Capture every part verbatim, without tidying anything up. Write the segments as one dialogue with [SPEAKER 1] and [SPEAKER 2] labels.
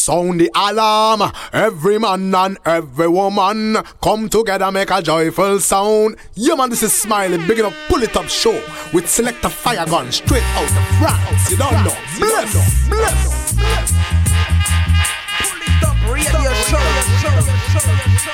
[SPEAKER 1] Sound the alarm, every man and every woman come together, make a joyful sound. Yeah man, this is Smiley, big enough Pull It Up show with Selector Fire Gun straight out of France. You don't know, bless, bless, bless. Pull It Up radio show.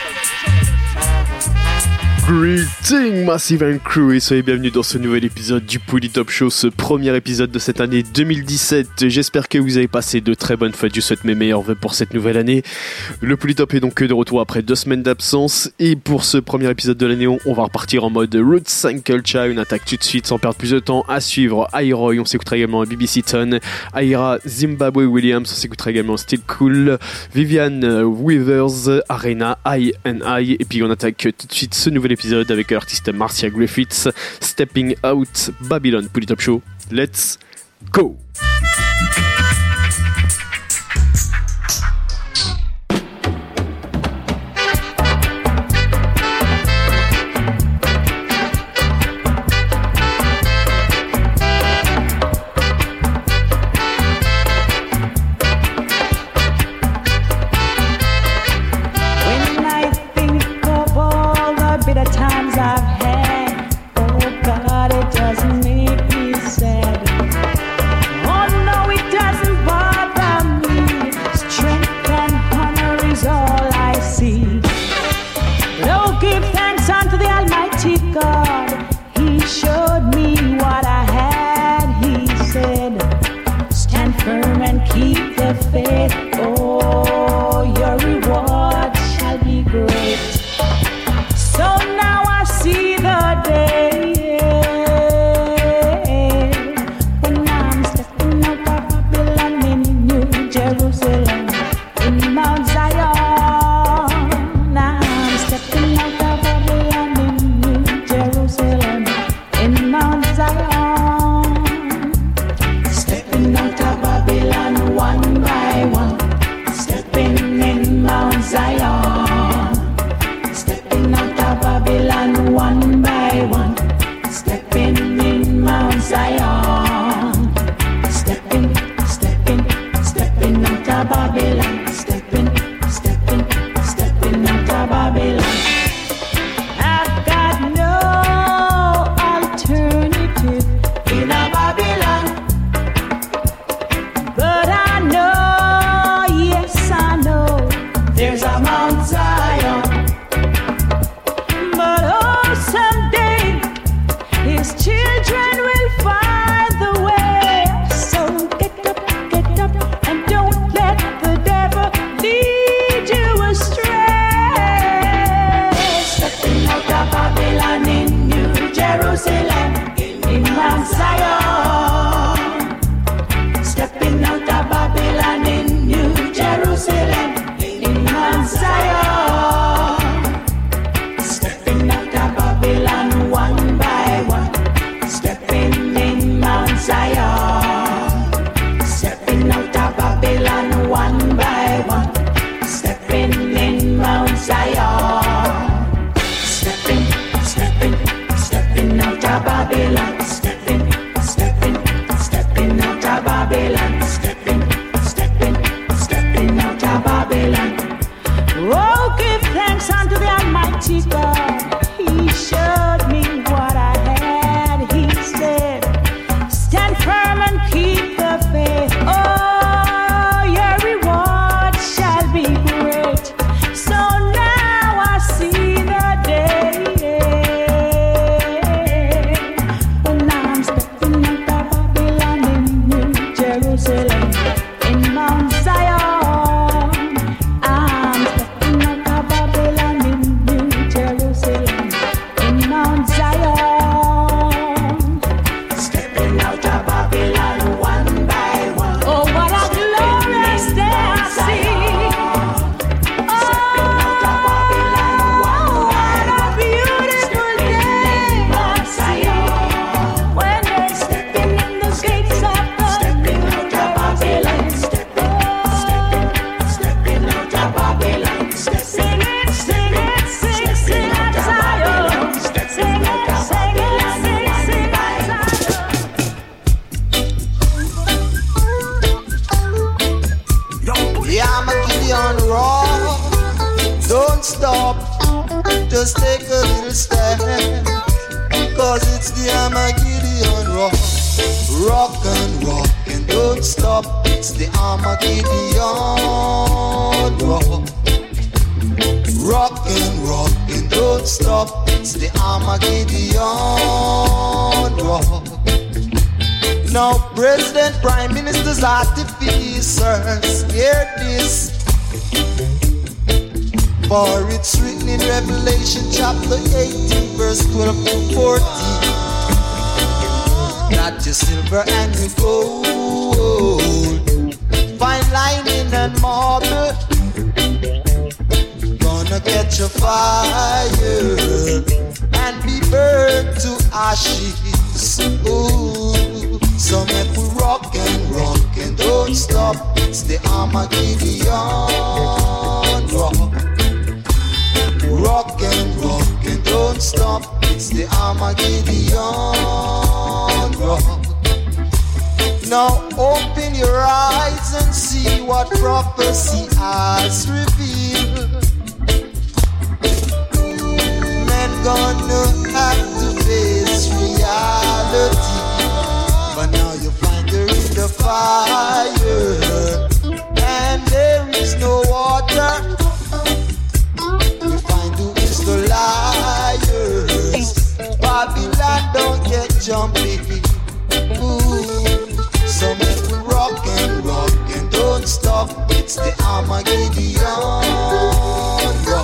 [SPEAKER 2] Greetings Massive and Crew et soyez bienvenus dans ce nouvel épisode du Pull It Up Show, ce premier épisode de cette année deux mille dix-sept. J'espère que vous avez passé de très bonnes fêtes, je souhaite mes meilleurs vœux pour cette nouvelle année. Le Pull It Up est donc de retour après deux semaines d'absence et pour ce premier épisode de l'année, on va repartir en mode Roots and Culture, une attaque tout de suite sans perdre plus de temps. À suivre, Iroy, on s'écoutera également B B C Ton, Aira, Zimbabwe Williams, on s'écoutera également Still Cool, Vivian Weavers, Arena, I and I, et puis on attaque tout de suite ce nouvel épisode avec l'artiste Marcia Griffiths, Stepping Out, Babylon, Pull It Up Show. Let's go!
[SPEAKER 3] The don't stop, just take a little step, cause it's the Armageddon rock. Rock and rock and don't stop, it's the Armageddon rock. Rock and rock and don't stop, it's the Armageddon rock. Now President, Prime Ministers, artificers, hear this, for it's written in Revelation chapter eighteen verse twelve to fourteen, that your silver and your gold, fine lining and marble, gonna catch a fire and be burned to ashes. Ooh. So make we rock and rock and don't stop, it's the Armageddon rock. Rock and rock and don't stop, it's the Armageddon rock. Now open your eyes and see what prophecy has revealed. Men gonna have to face reality, but now you find her in the fire, and there is no water. You find who is the liars. Babylon don't get jumpy. Ooh. So make we rock and rock and don't stop, it's the Armageddon rock.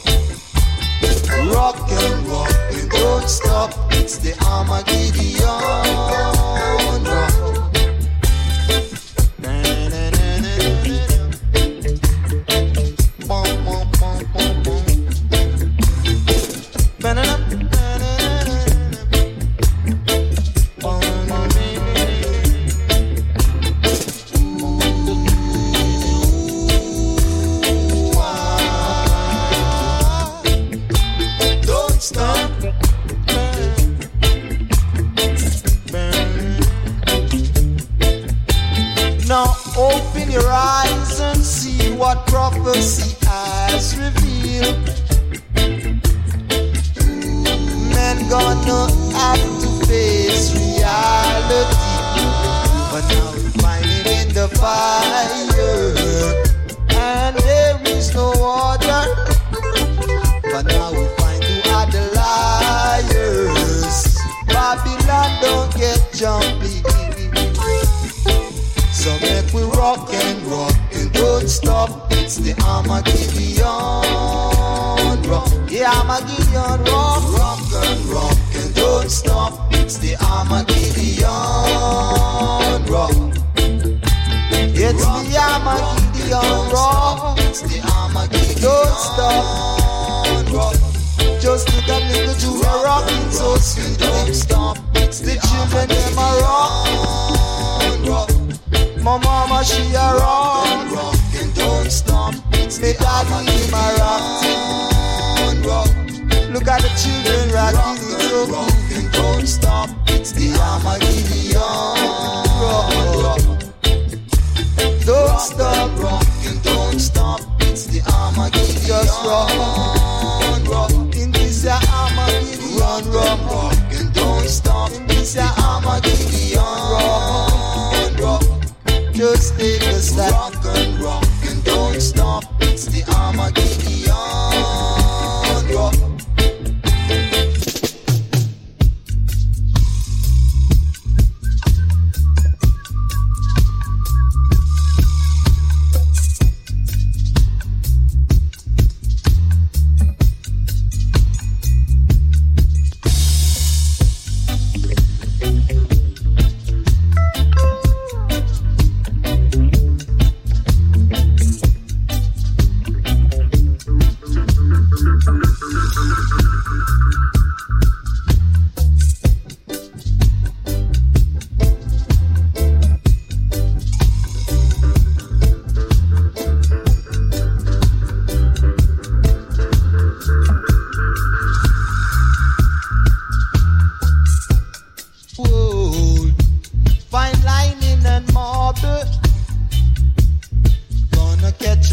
[SPEAKER 3] Rock and rock and don't stop, it's the Armageddon rock. Open your eyes and see what prophecy has revealed. Men gonna have to face reality, but now we find it in the fire, and there is no water. But now we find who are the liars. Babylon don't get jumpy. So make we rock and rock and don't stop, it's the Armageddon rock. The Armageddon rock. Rock and rock and don't stop, it's the Armageddon rock. It's rock the Armageddon rock. It's the Armageddon don't stop. Rock. Just look at little Junior rocking so sweet. Don't stop, it's the children them a rock. Rock. My mama, she a rock, rock and don't stop. It's the daddy, him a rock. Look at the children rocking it so rock and don't stop. It's the Armageddon rock. Don't stop, rock and don't stop. It's the Armageddon just rock. In this ya Armageddon rock, rock and don't stop. In this ya Armageddon rock. Just take a step, rock and rock and don't stop. It's the Armageddon rock.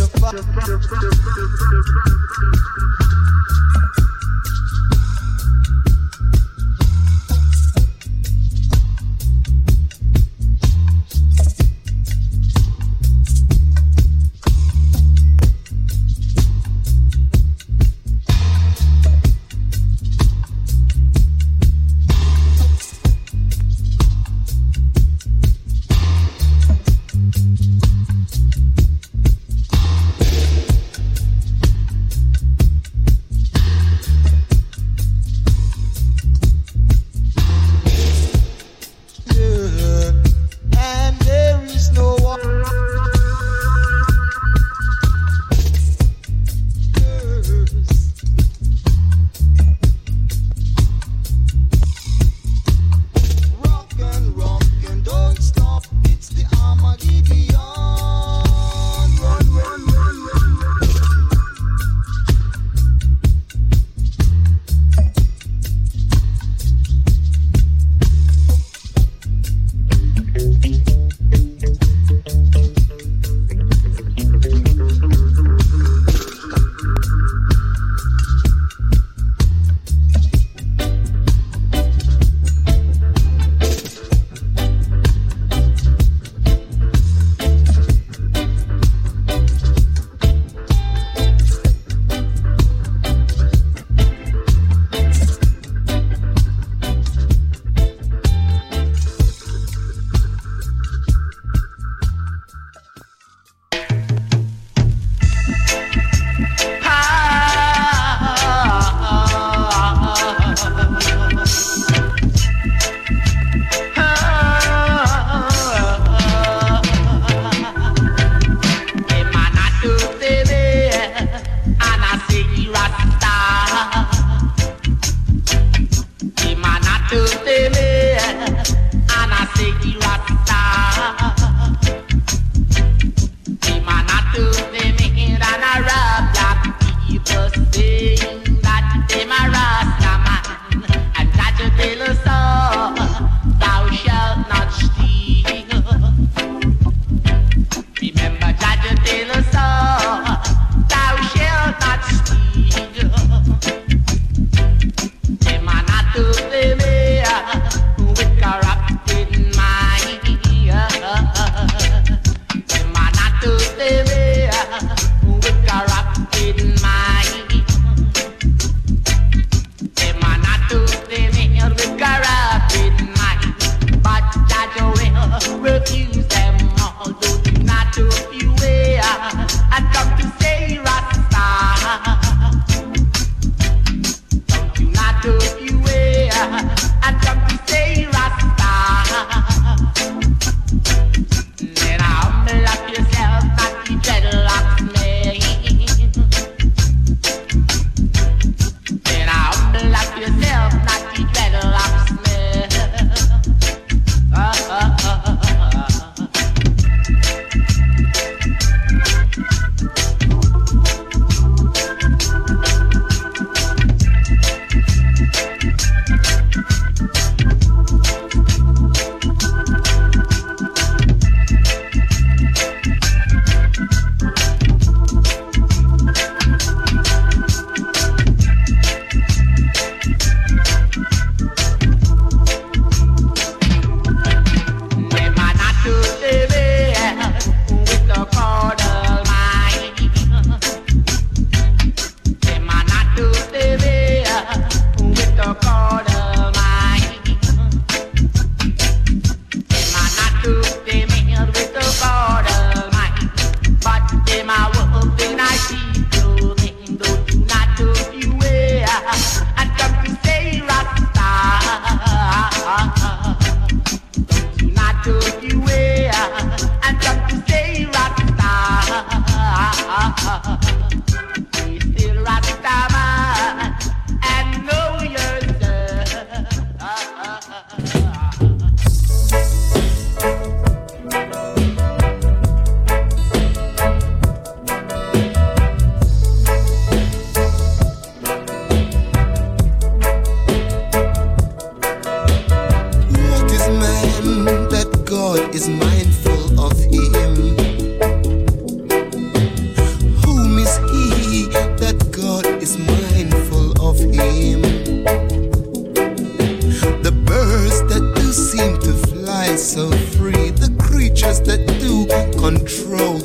[SPEAKER 3] is mindful of him.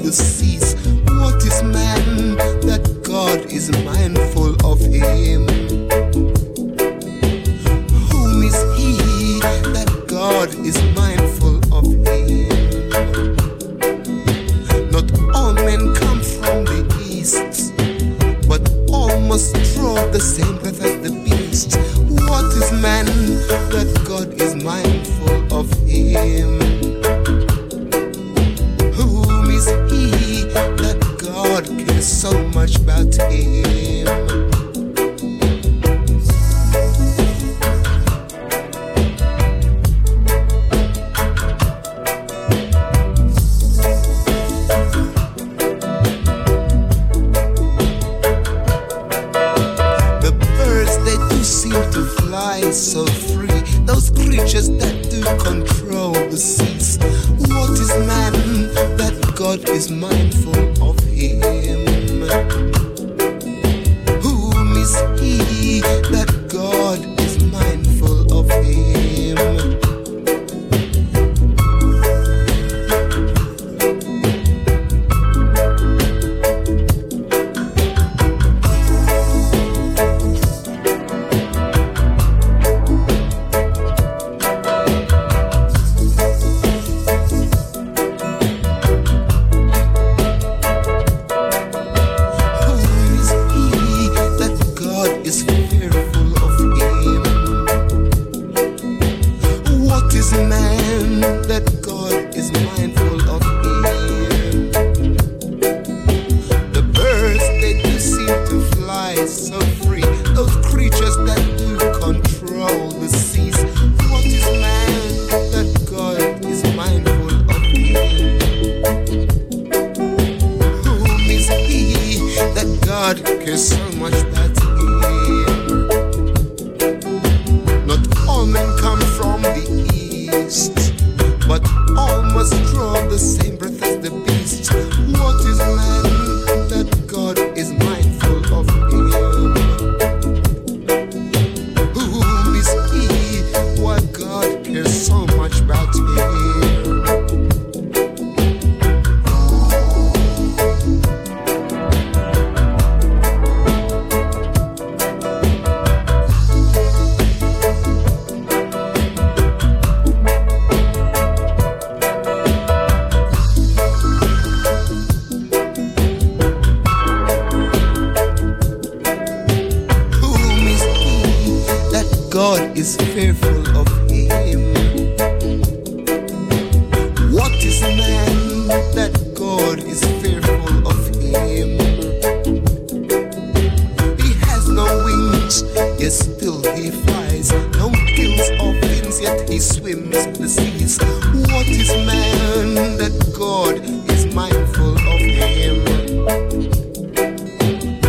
[SPEAKER 3] the seas. What is man that God is mindful of him? Whom is he that God is mindful of him? Not all men come from the east, but all must draw the same breath as the beast. What is man that God is mindful of him? Whom is he that God cares so much about him? So free, those creatures that do control the seas. What is man that God is mindful of him? Whom is he that God is mindful of him?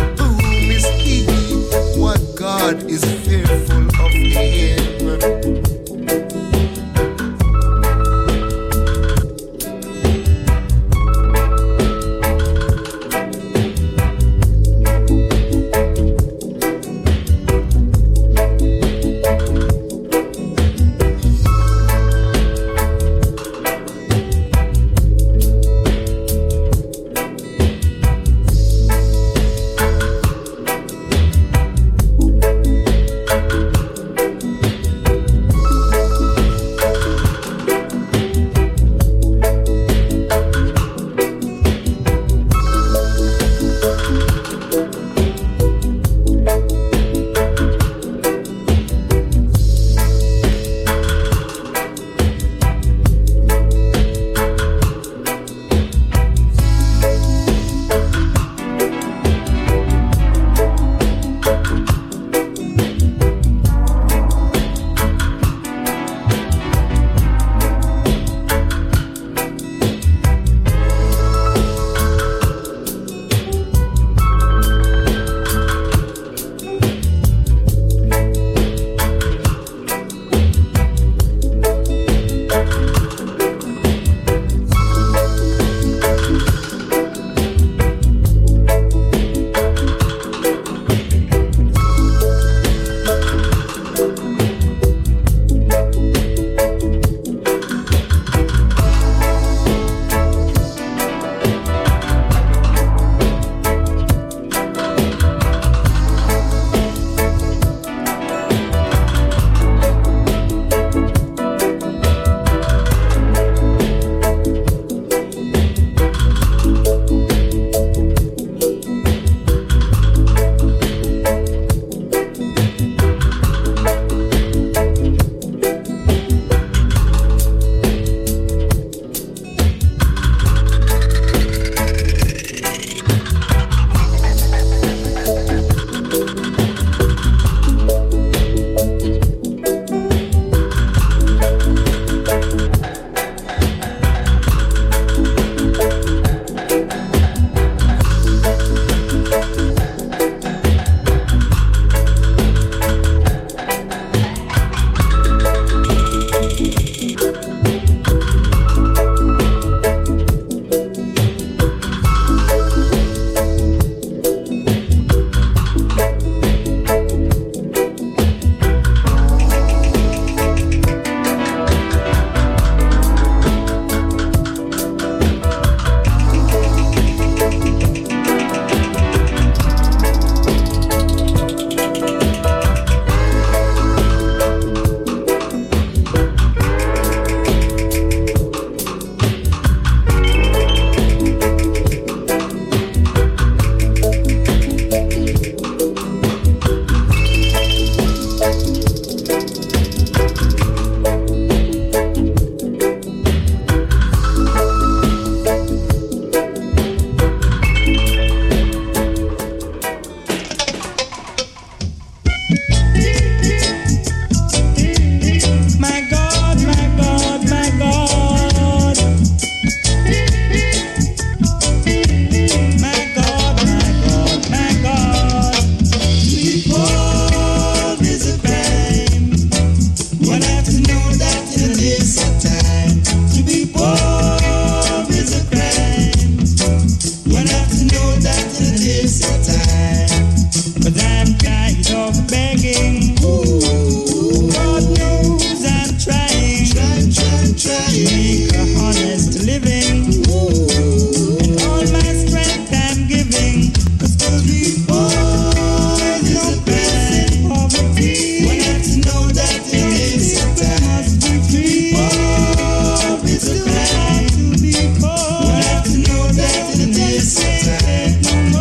[SPEAKER 3] God is fearful of him. One have to know that it is a time. But I'm tired of begging. Ooh, God knows I'm trying. Trying, trying, trying to make a honest living. Ooh, and all my strength I'm giving. Cause to be poor is no present poverty. One have to know that it is a time. Must be free. Poor is a crime. To be poor. One have to know that it is a time.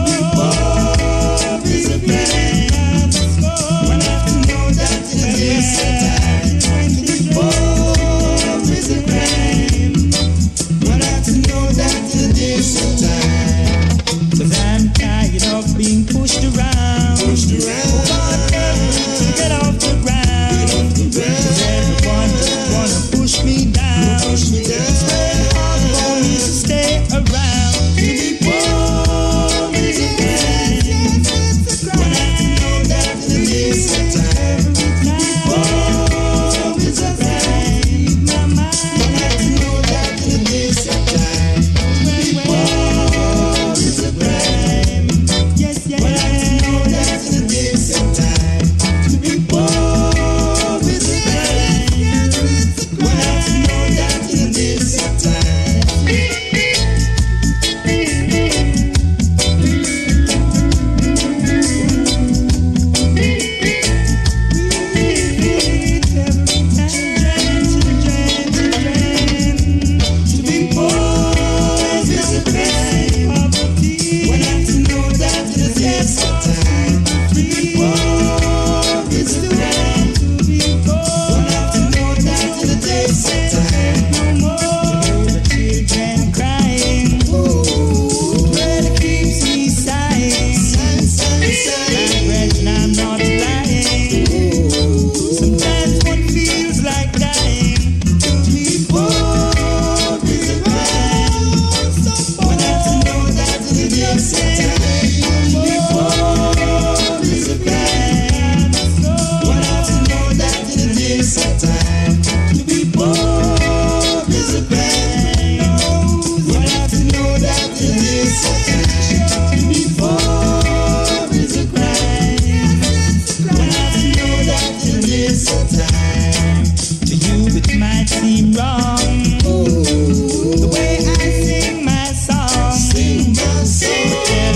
[SPEAKER 3] Poor is a crime. One have to know that it is a time. To be poor is a crime. One have to know that it is a time. Cause I'm tired of being pushed around. Pushed around. God help me to get off the ground. Cause everyone just wanna push me down. Push me down. It's very hard for me to stay around. To be poor is a crime. One have to know that it is a time. To be poor is a crime. One have to know that it is a time. To be poor is a crime. Yes, yes. One have to know that it is a time. To be poor is a crime. One have to know that it is a time. To be poor is a crime. One have to know that it is a time. To be poor is a crime. One have to know that it is a time. No more the children crying. Well, it keeps me sighing. I'm brethren, I'm not lying. Sometimes one feels like dying. To be poor is a crime. One have to know that it is a time. To be poor is a crime. One have to know that it is a time. To be poor is a crime. One have to know that it is a time. To be poor is a crime. One have to know that it is a time. To you it might seem wrong. The way I sing my song. Sing my song.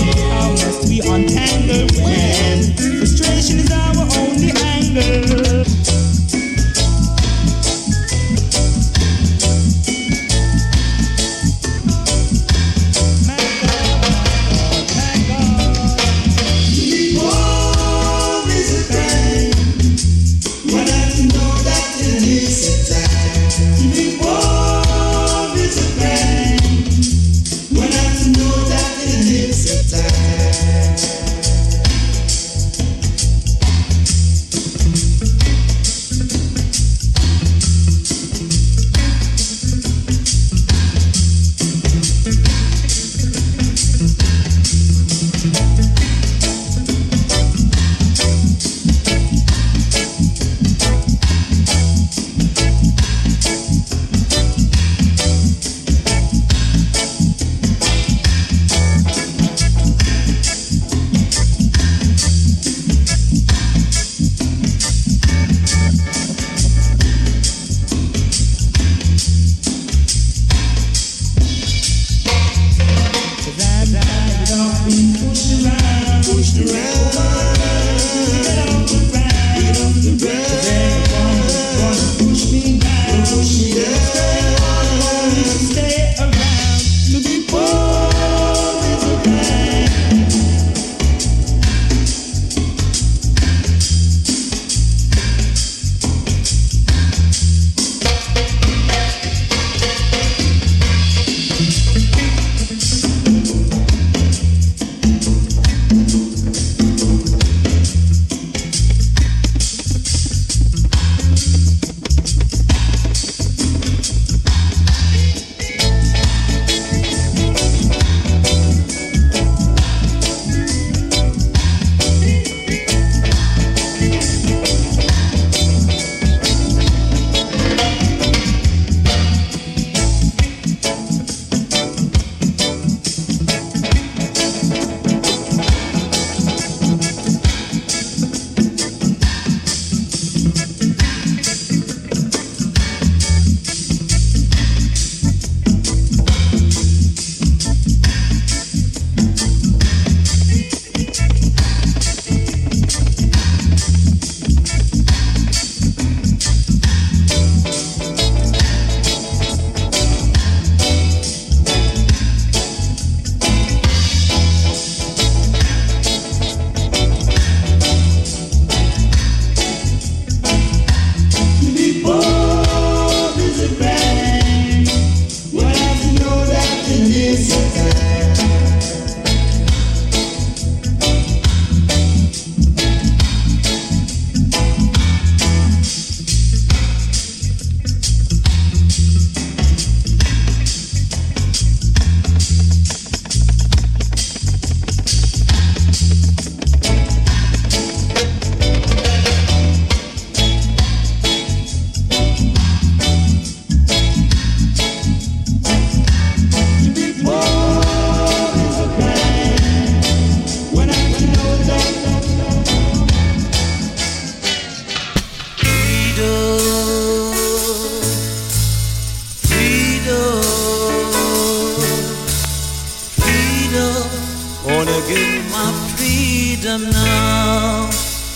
[SPEAKER 3] Gonna get my freedom now.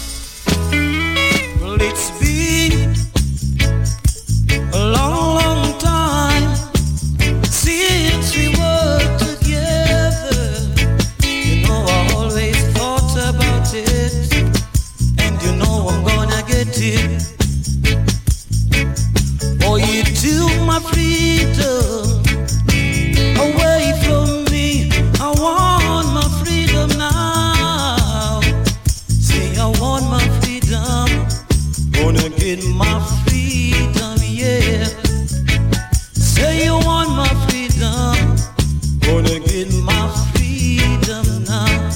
[SPEAKER 3] Well, it's been a long, long time since we were together. You know I always thought about it, and you know I'm gonna get it. Oh, you took my freedom away from me. I want my freedom now. Say I want my freedom. Gonna get my freedom, yeah. Say you want my freedom. Gonna get my freedom now.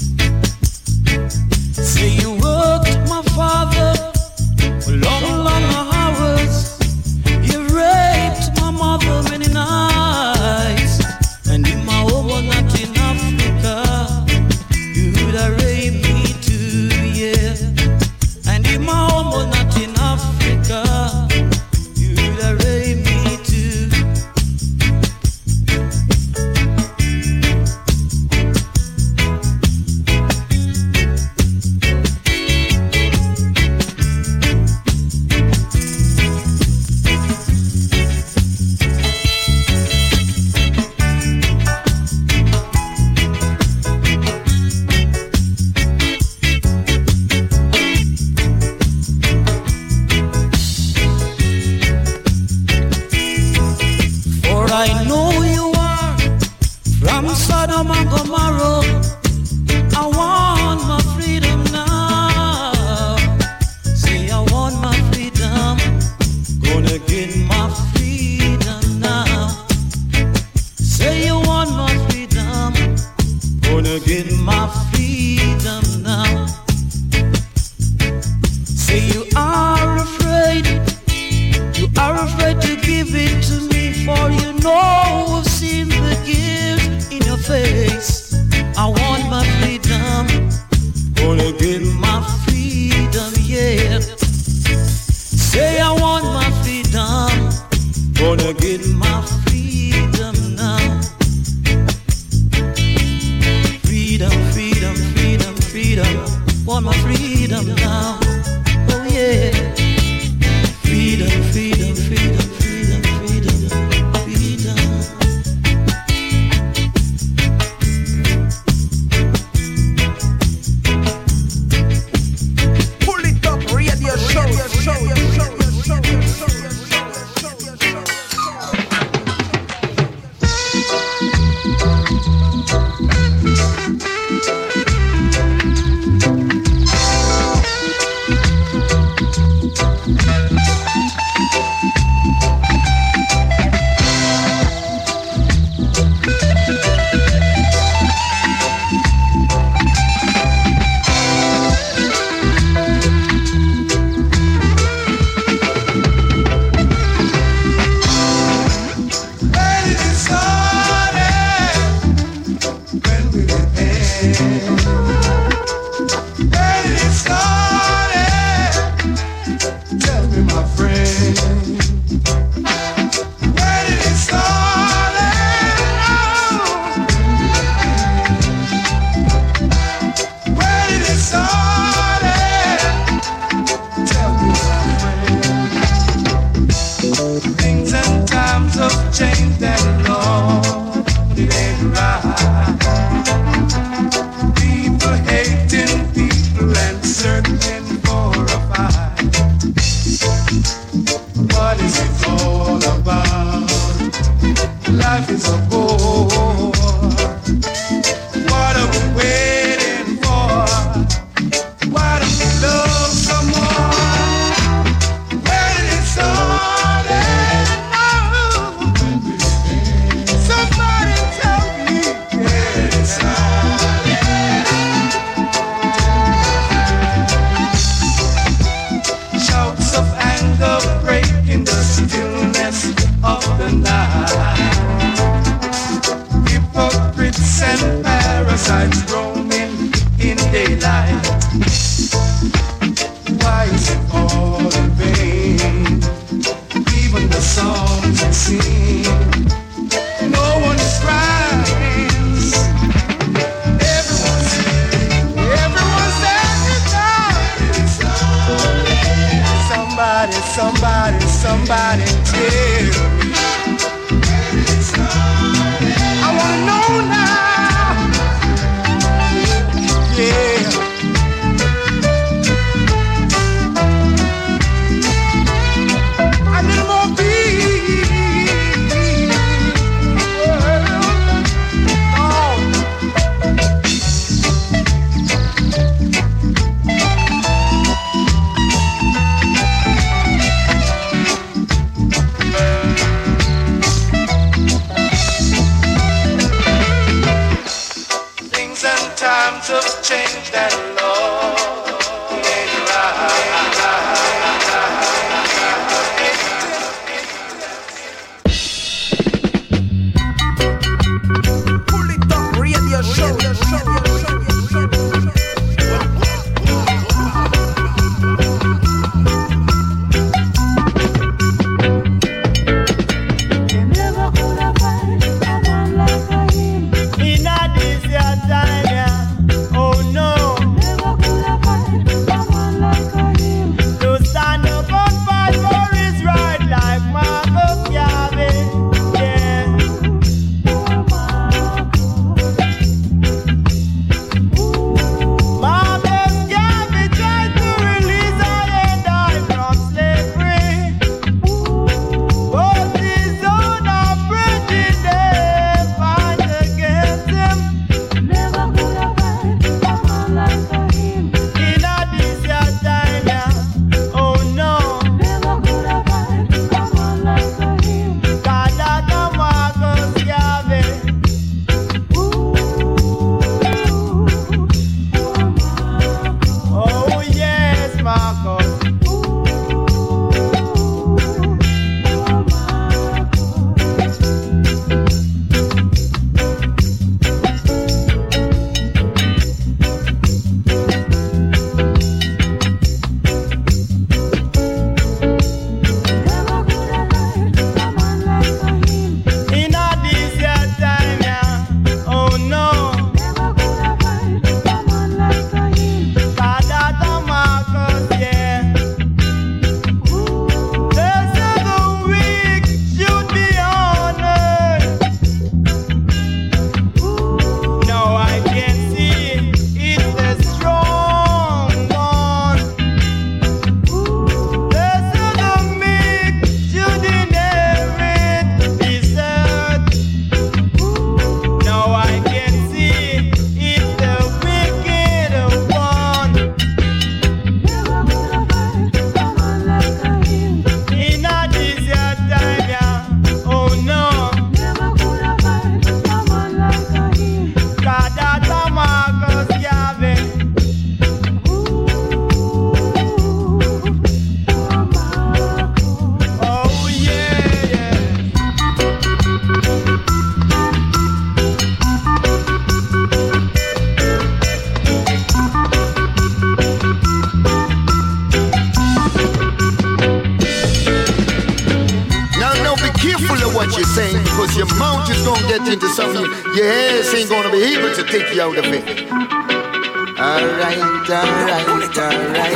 [SPEAKER 3] Say you worked my father for long, long hours. You raped my mother many nights. And if my home was not in Africa, you would have raped me too, yeah. And if my home was not in Africa, you would have raped me too. For I know you are from Sodom and Gomorrah. I want my freedom now. Say I want my freedom. Gonna get my freedom now. Say you want my freedom. Gonna get my freedom now. Say you are afraid. You are afraid to give it to me, for you know I've seen the guilt in your face. I want my freedom. Gonna get my freedom, yeah. Say I want my freedom. Gonna get my freedom now. Freedom, freedom, freedom, freedom. Want my freedom now. Oh yeah. Freedom, freedom, freedom, freedom, freedom, freedom.
[SPEAKER 4] Pull it up, radio show, show, show, show,
[SPEAKER 3] No one is right.
[SPEAKER 4] somebody tell me. I wanna know now. Yeah. A little more peace. Oh. Times of change that Lord ain't right. Pull it up, radio show, show, show,
[SPEAKER 3] take you out of it. Alright, alright, alright.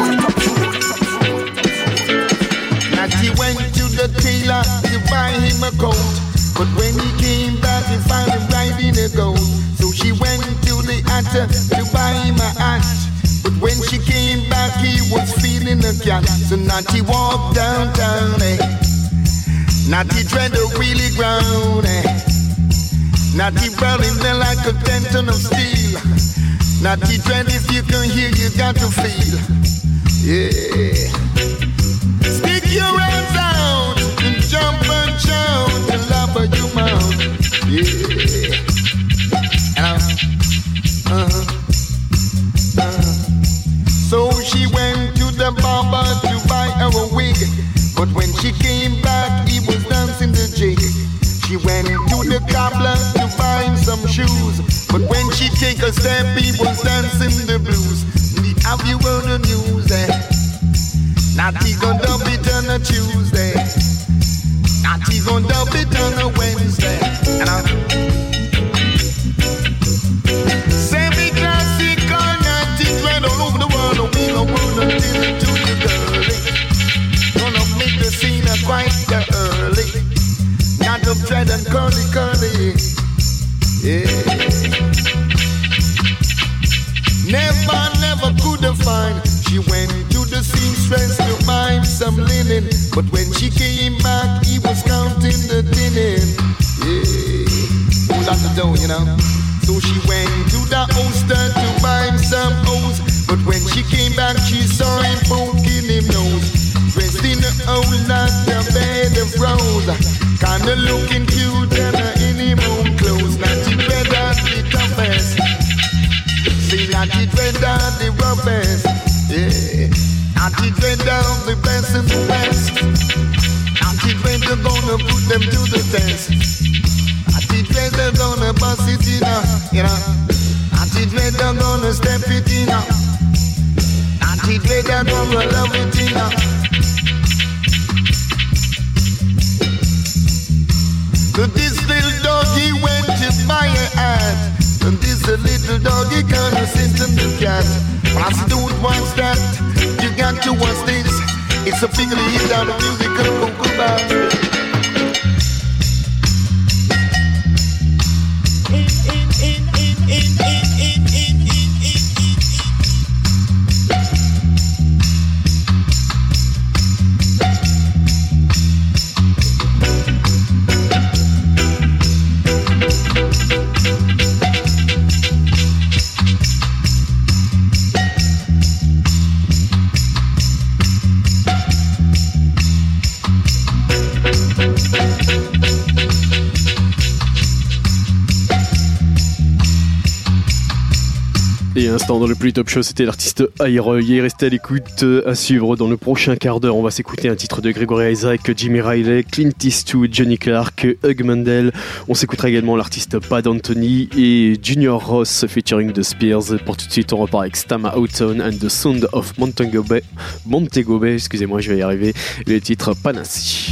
[SPEAKER 3] Natty went to the tailor to buy him a coat, but when he came back he found him riding a goat. So she went to the hatter to buy him a hat, but when she came back he was feeling a cat. So Natty walked downtown, eh? Natty tread the wheelie ground, eh? Natty burning there like a ten ton of steel. Natty dread, if you can hear, you got to feel. Yeah. Stick your hands out and jump and shout and laugh at your mouth. Yeah. Uh, uh, uh. So she went to the barber to buy her a wig, but when she came back, he was dancing the jig. She went to the cobbler to buy him some shoes, but when she take a step, he was dancing the blues. Have you heard the news, eh? Natty gon' dub it on a Tuesday. Natty gon' dub it on a Wednesday. And I semi-classical Natty dread all over the world. We gon' run until to the girl. Gonna make the scene a quite But when she came back, he was counting the linen. Yeah, pull out the dough, you know. So she went to the Ulster to buy him some O's. But when she came back, she saw him poking him nose. Dressed in a old like a bed of rose. Kinda looking cute and in him own clothes. Not the dread of the toughest. See, not the dread of the roughest. Yeah. Not the dread of the best and the best. Not the dread they're gonna put them to the test. Not the dread they're gonna bust it in, uh, you know. Not the dread they're gonna step it in, uh. Not the dread they're gonna love it in, uh. So this little doggy went to buy a hat. And this a little doggy gonna send to the cat. But I said, don't watch that. You got to watch this. It's a big hit on the musical Cocoa.
[SPEAKER 2] Et un instant dans le plus top show, c'était l'artiste Iroy. Restez à l'écoute, à suivre dans le prochain quart d'heure. On va s'écouter un titre de Gregory Isaac, Jimmy Riley, Clint Eastwood, Johnny Clark, Hugh Mandel. On s'écoutera également l'artiste Pat Anthony et Junior Ross featuring The Spears. Pour tout de suite, on repart avec Stama Houghton and the Sound of Montego Bay. Montego Bay, excusez-moi, je vais y arriver. Le titre Panassi.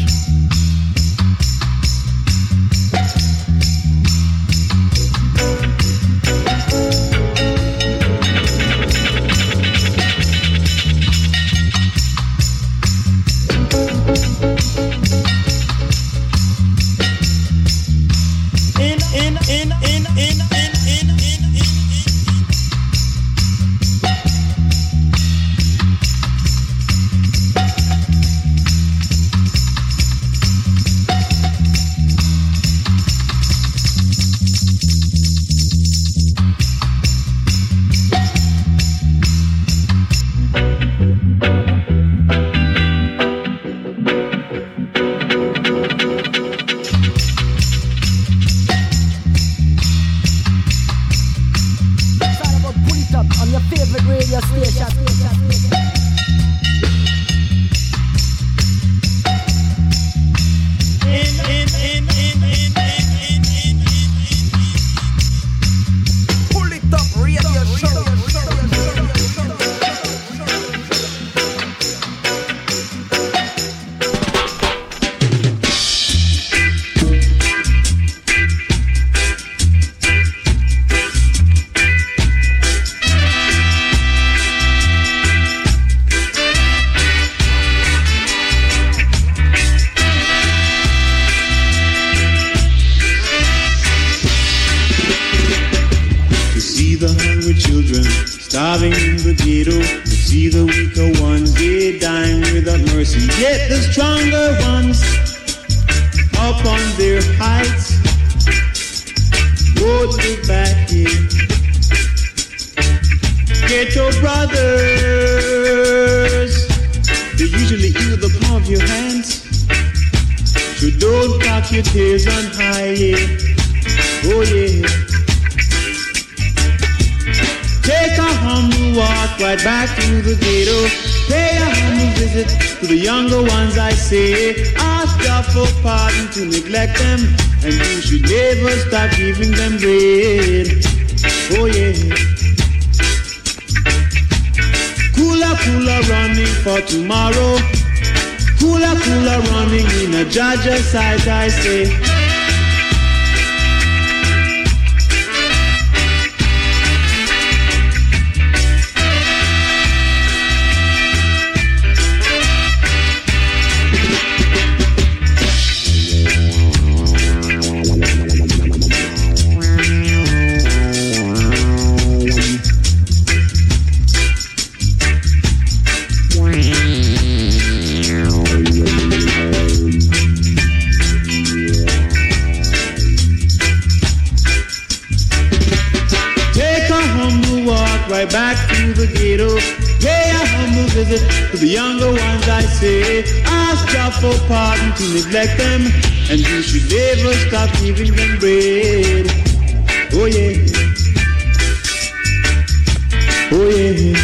[SPEAKER 5] Side I say right back to the ghetto. Pay a humble visit to the younger ones, I say. Ask God for pardon to neglect them, and you should never stop giving them bread. Oh yeah. Oh yeah.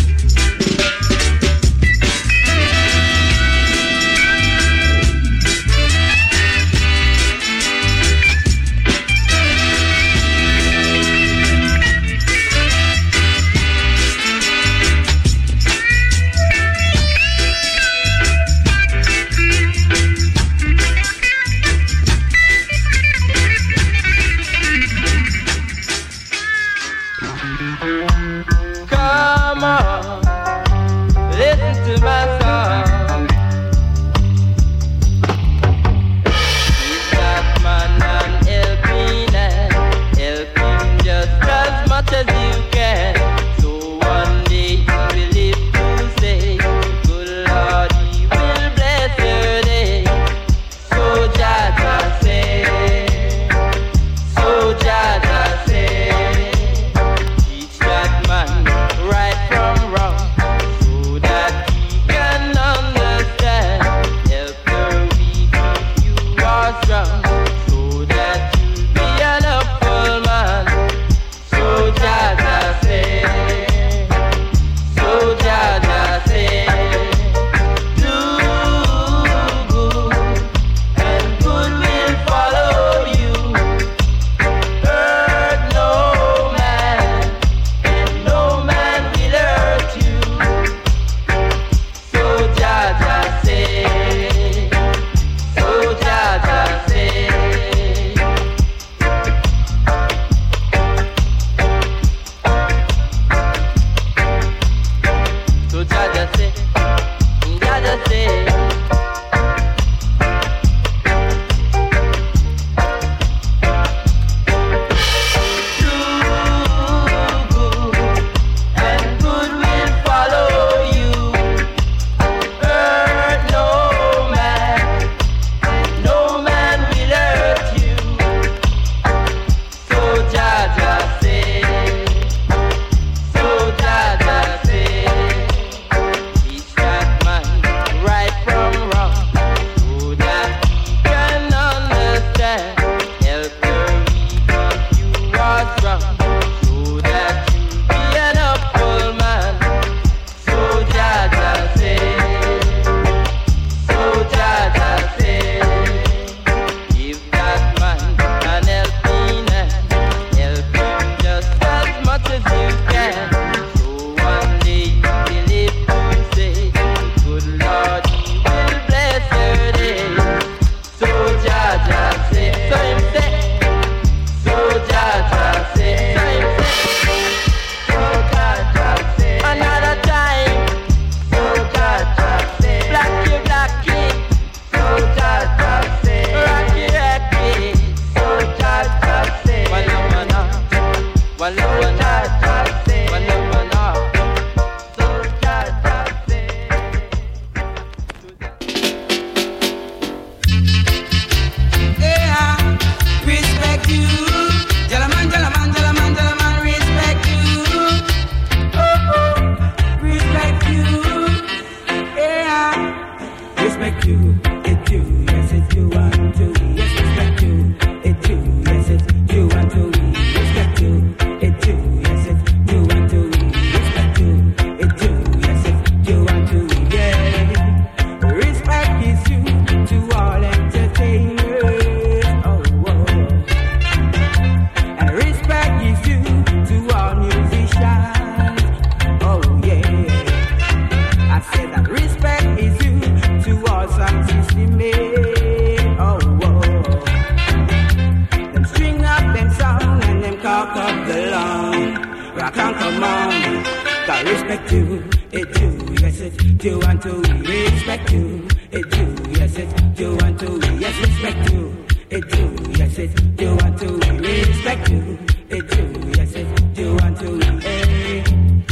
[SPEAKER 6] respect you, it do, yes it do, and to respect you, it do, yes it do, and to yes respect you, it do, yes it do, and to respect you, it do, yes it do, and to hey.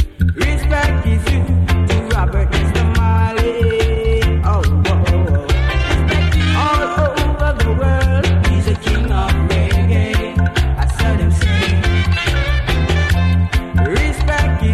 [SPEAKER 6] Respect is you to Robert Mister Marley, oh, oh, oh. All over the world, he's a king of reggae, I saw them say. Respect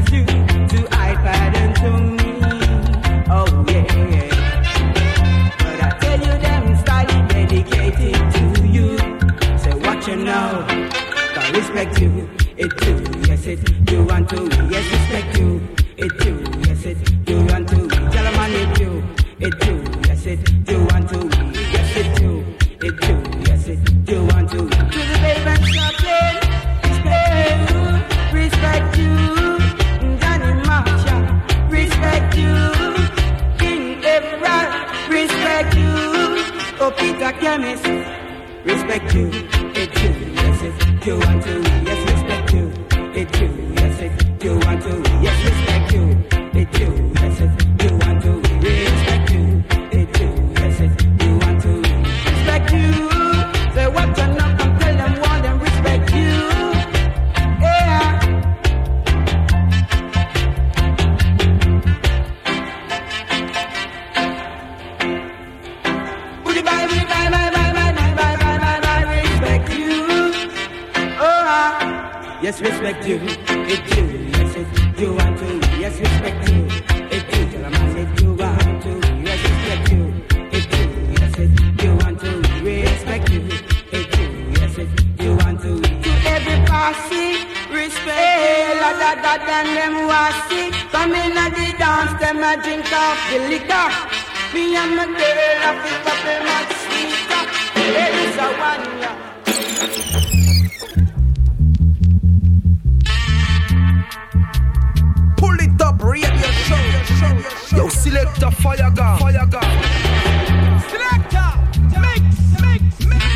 [SPEAKER 6] to we, yes, respect you. It do, yes, it do want to we. Tell a man it do, it do, yes, it do want to we. Yes, it do, it do, yes, it do want to we. To the babe and chocolate, respect you, respect you. Johnny Marshall, respect you. King Everett, respect you. Oh, Peter Chemist, respect you. It do, yes, it do want to we. Yes, respect you. It do, yes, it do want to we. Yes, respect you. It do, yes, it do want to we. Respect you. It do, yes, it do want to we. Respect you. Say what you know and tell them want them respect you. Yeah. Would you buy, would you buy, buy, buy, buy, buy, buy, buy, buy, buy, respect you. Oh, ah. Yes, respect you. It do, yes, it do want to. Yes, respect you. It do, tell a man it do want to. Yes, respect you. It do, yes, it do want to. Respect you. It do, yes, it do want to. To every posse, respect. La da da da them wassy. Come in at the dance, them a drink off the liquor. Me and my girl, I pick up a much sweeter. There is a one, yeah.
[SPEAKER 4] Pull it up, radio show. Yo, selector, fire gun, fire gun. Selector, mix, mix, mix, mix,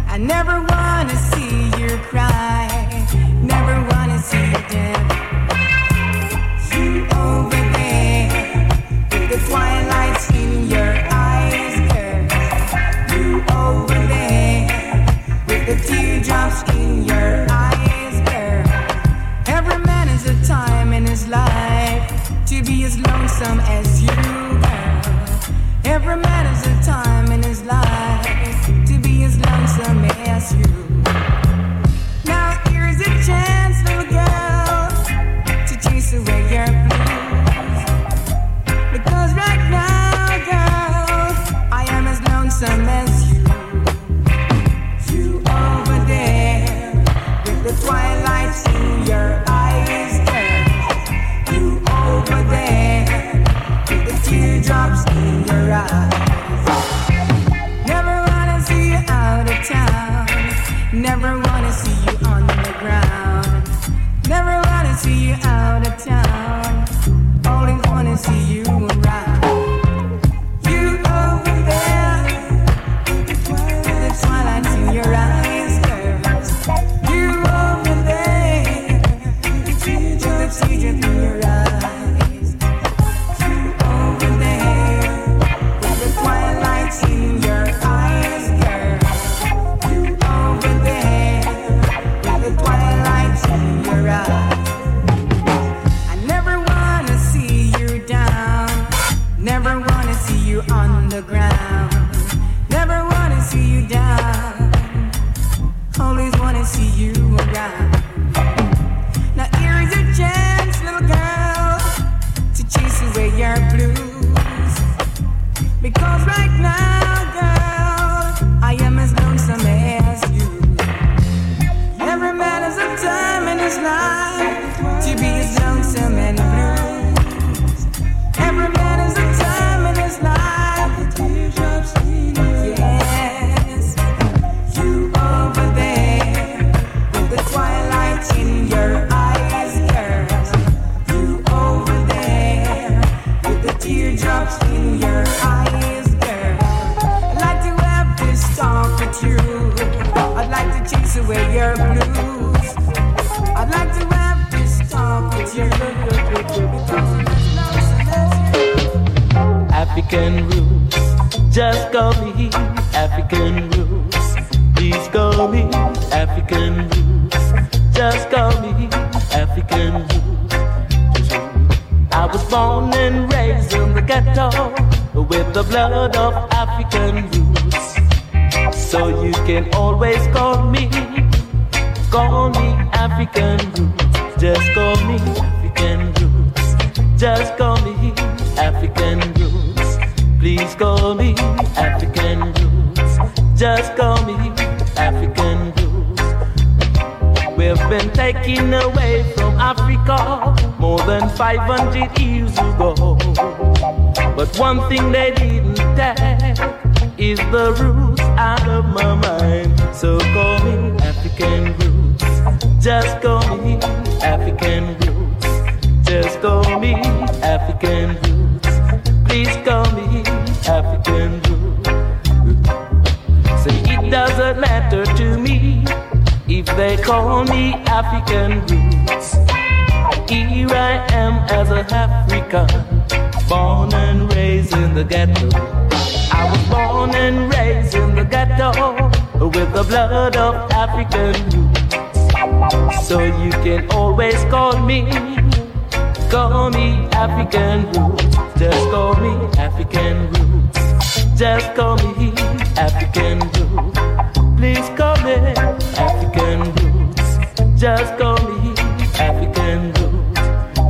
[SPEAKER 6] never wanna see you cry, never wanna see you dead. his life to be as lonesome as you, girl. Every man has a time in his life to be as lonesome as you. Now here's a chance, little girl, to chase away your blues. Because right now, girl, I am as lonesome as you. You over there with the twilight in your eyes, girl. You over there with the teardrops in your eyes. Never wanna see you out of town. Never wanna see you on the ground. Never wanna see you out of town. Always wanna see you around. You over there with the twilight in your eyes, girl. You over there with the teardrops in your eyes. You over there with the twilight in your eyes, girl. You over there with the twilight in your eyes. I never wanna see you down. Never wanna see you on the ground. Never wanna see you down. Always wanna see you around. Now here's a chance, little girl, to chase away your blues. Because right now, girl, I am as lonesome as you. Every man has a time in his life to be as lonesome and blues. Every man has a time in his life. Yes, you over there with the twilight in your eyes, girl. You over there with the teardrops in your eyes, girl. I'd like to have this talk with you. I'd like to chase away your blues. I'd like to have this talk with you.
[SPEAKER 7] African roots, just call me African roots. Please call me African roots. Just call me African roots. I was born and raised in the ghetto with the blood of African roots. So you can always call me, call me African roots. Just call me African roots. Just call me African roots. Please call me African roots. Just call me African roots. We've been taken away from Africa more than five hundred years ago. But one thing they didn't take is the roots out of my mind. So call me African roots. Just call me African roots. Just call me African roots. Please call me African roots. Say it doesn't matter to me if they call me African roots. Here I am as a African, born and raised in the ghetto. I was born and raised in the ghetto with the blood of African roots. So you can always call me, call me African roots. Just call me African roots. Just call me African roots. Please call me African roots. Just call me African roots.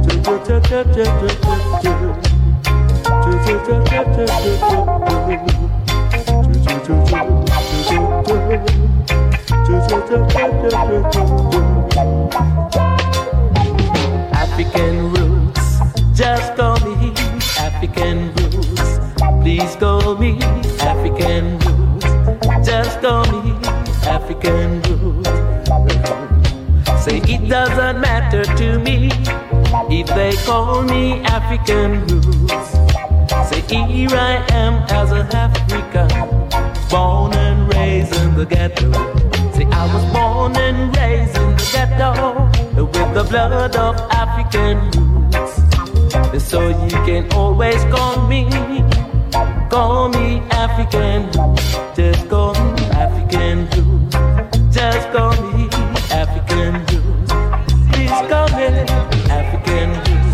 [SPEAKER 7] African roots. Just call me African roots. Please call me African roots. Just call me African roots. Say it doesn't matter to me if they call me African roots. Say here I am as a African, born and raised in the ghetto. Say I was born and raised in the ghetto with the blood of African roots. So you can always call me, call me African roots. Just call me African roots. Just call me African roots. Please call me African roots.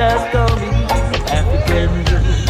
[SPEAKER 7] just call me African roots.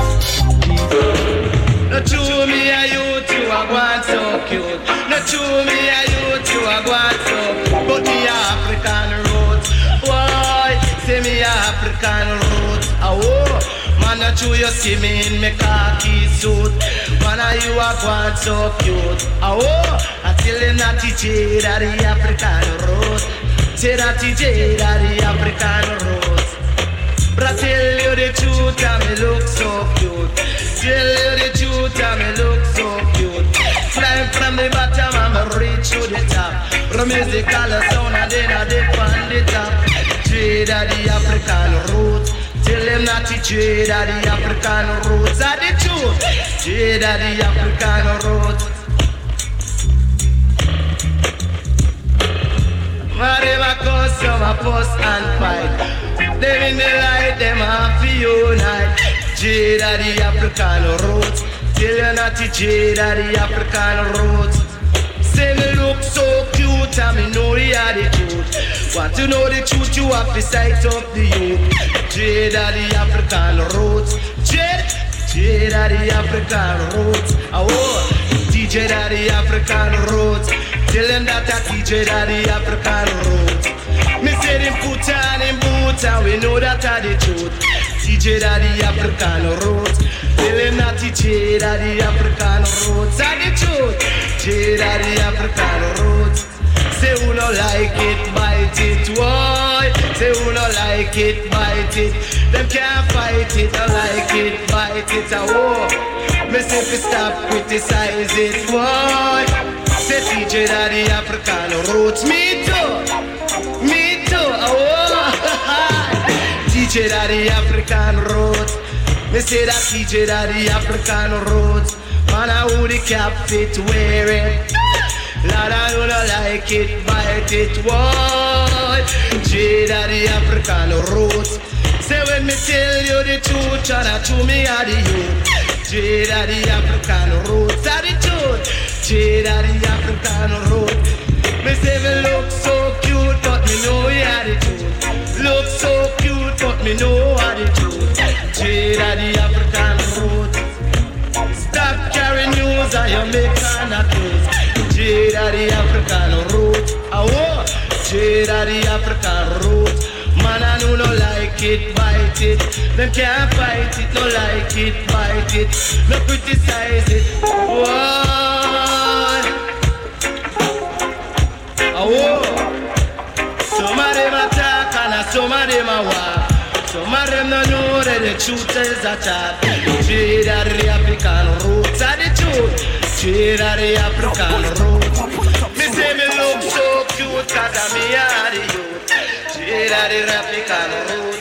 [SPEAKER 4] No true me a youth, you a gone so cute. No true me a youth, you a gone so cute. But me a African roots. Why? Say me a African roots. Oh, man, no true you see me in me khaki suit. Man, a you a gone so cute. Oh, until them not teach you that the African roots. Say that teach you that the African roots. But I tell you the truth, and me look so cute. Tell you the truth, and me look so cute. Flying from the bottom, and me reach to the top. From musical sound, and then I dip on the top. Trade of the African roots. Tell them not to trade of the African roots. Are the truth? Trade of the African roots. Whatever customer post and fight. Them in the light, them have to unite. Jade of the African roots. Tell you not to jade of the African roots. Say me look so cute and me know you are the truth. Want to know the truth, you have to sight up the youth. Jade of the African roots. Jade, Jade of the African roots. Oh, D J of the African roots. Tell them that I teach you that the African roots. Me say them put on them boots and we know that are the truth. Teach you that the African roots. Tell them that teach you that the African roots are the truth. Teach you that the African roots. Say who no like it, bite it, why? Say who no like it, bite it. Them can't fight it, no like it, bite it, oh. Me say fi stop criticize it, why? Say teach you that the African roots. Me too, me too, oh. Teach you that the African roots. Me say that teach you that the African roots. Man, I who the cap fit wear it. Lord, I don't like it, bite it, why? Teach that the African roots. Say when me tell you the truth, and I to me are the youth. Teach that the African roots are the truth. Jade of the African road. Me say me look so cute, but me know you are the truth. Look so cute, but me know are the truth. Jade of the African road. Stop carrying news and you make an accuse. Jade of the African road. Oh, Jade of the African road. Man, I know no like it, bite it. Them can't fight it, no like it, bite it. No criticize it. Why? Oh, some of them attack and some of them a walk. Some of them don't know that the truth is a talk. Trade of the African roots are the truth. Trade of the African roots. Me say me look so cute cause I'm me are the youth. Trade of the African roots.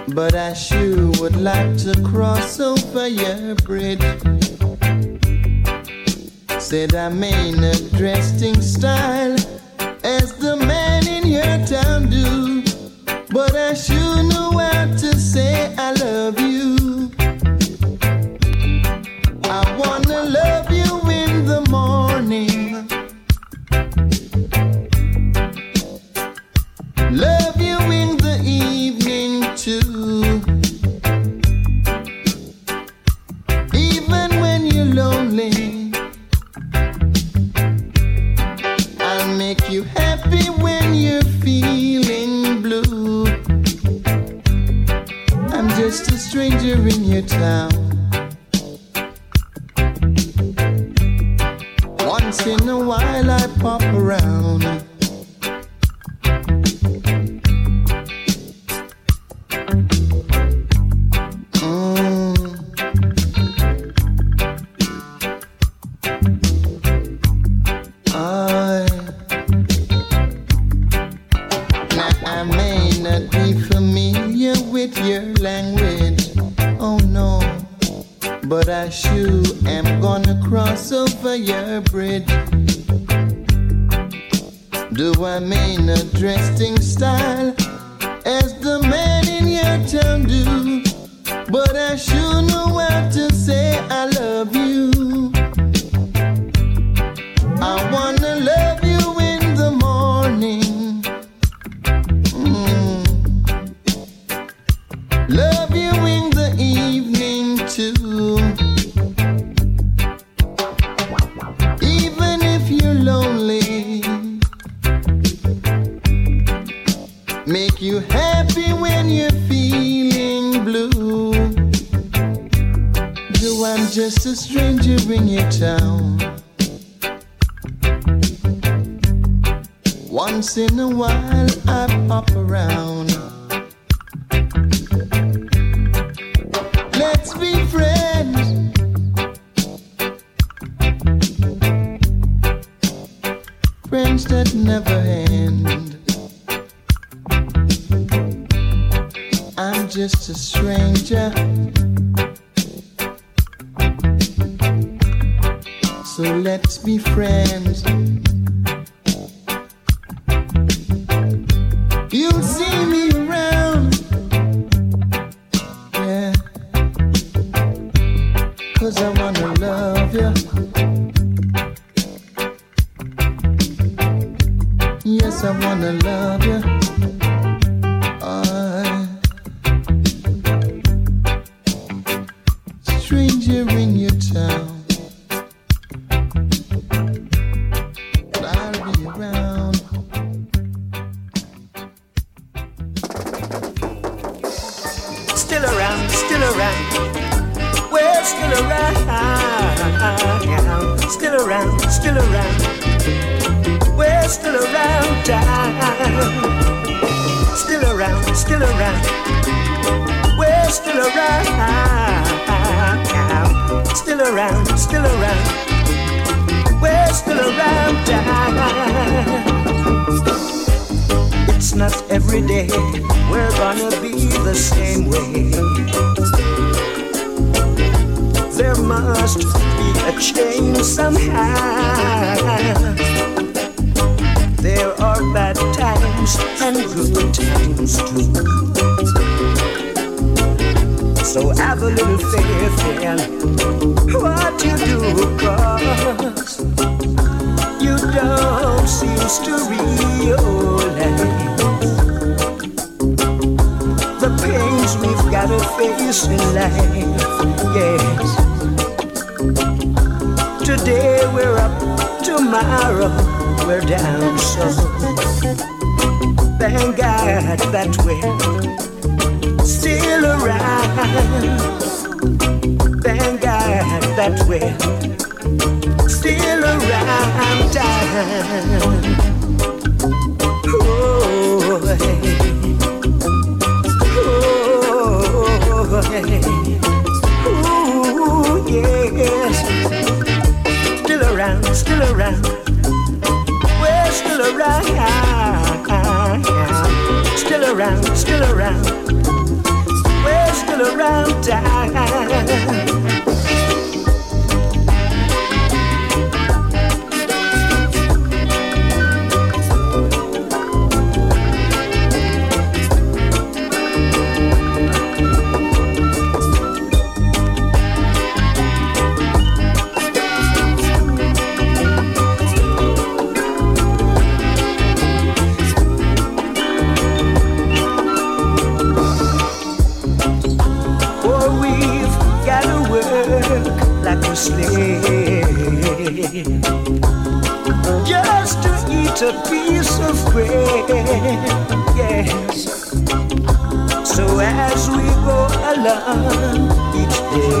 [SPEAKER 3] but I sure would like to cross over your bridge. Said I'm in a dressing style as the man in your town do, but I sure know how to say I love you. I wanna love you in the morning, love you in the evening too, even when you're lonely. I'll make you happy when you're feeling blue. I'm just a stranger in your town. Once in a while I pop around. I sure am gonna cross over your bridge. Do I mean a dressing style as the man in your town do, but I sure know how to say I love you. I wanna love you in the morning, mm. Love you in the evening too, even if you're lonely. Make you happy when you're feeling blue. Though I'm just a stranger in your town. Once in a while I pop around. Let's be friends. Friends that never end. I'm just a stranger, so let's be friends. You'll see me around, yeah, 'cause I wanna love you. Yes, I wanna love you. Stranger in your town, but I'll be around.
[SPEAKER 8] Still around, still around, we're still around. Still around, still around, we're still around. Still around, still around, we're still around. Still around, still around, we're still around. It's not every day we're gonna be the same way. There must be a change somehow. There are bad times and good times too. So have a little faith in what you do, 'cause you don't seem to realize the pains we've got to face in life. Yes, today we're up, tomorrow we're down. So thank God that we're still around. Thank God that we're still around. Oh, hey. Oh, hey. Ooh, yes. Still around, still around. We're still around. Still around, still around. slave just to eat a piece of bread. Yes. So as we go along each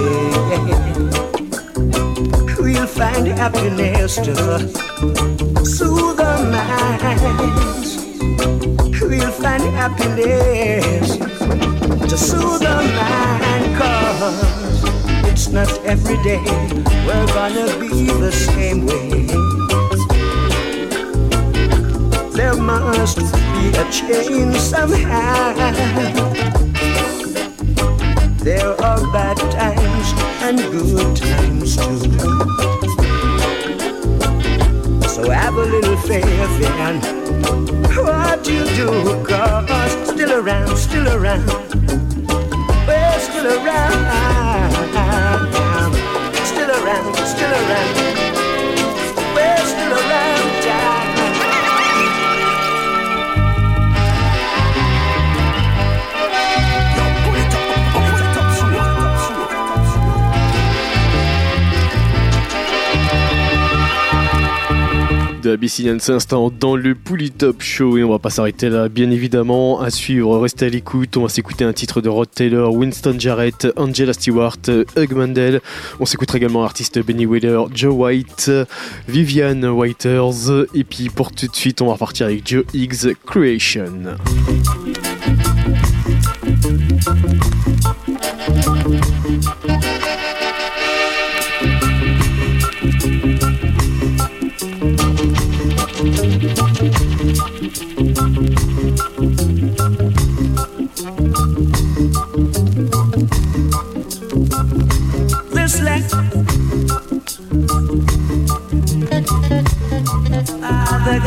[SPEAKER 8] day, we'll find happiness to soothe our minds. We'll find happiness to soothe our mind, 'cause it's not every day we're gonna be the same way. There must be a change somehow. There are bad times and good times too. So have a little faith in what you do, 'cause still around, still around, we're still around, still around, still around, we're still around.
[SPEAKER 2] De Abyssinian Instant dans le Pouli Top Show, et on va pas s'arrêter là, bien évidemment. À suivre, restez à l'écoute, on va s'écouter un titre de Rod Taylor, Winston Jarrett, Angela Stewart, Hugh Mandel. On s'écoutera également l'artiste Benny Wheeler, Joe White, Vivian Whiters, et puis pour tout de suite on va repartir avec Joe Higgs, Creation.
[SPEAKER 8] This land, ah, the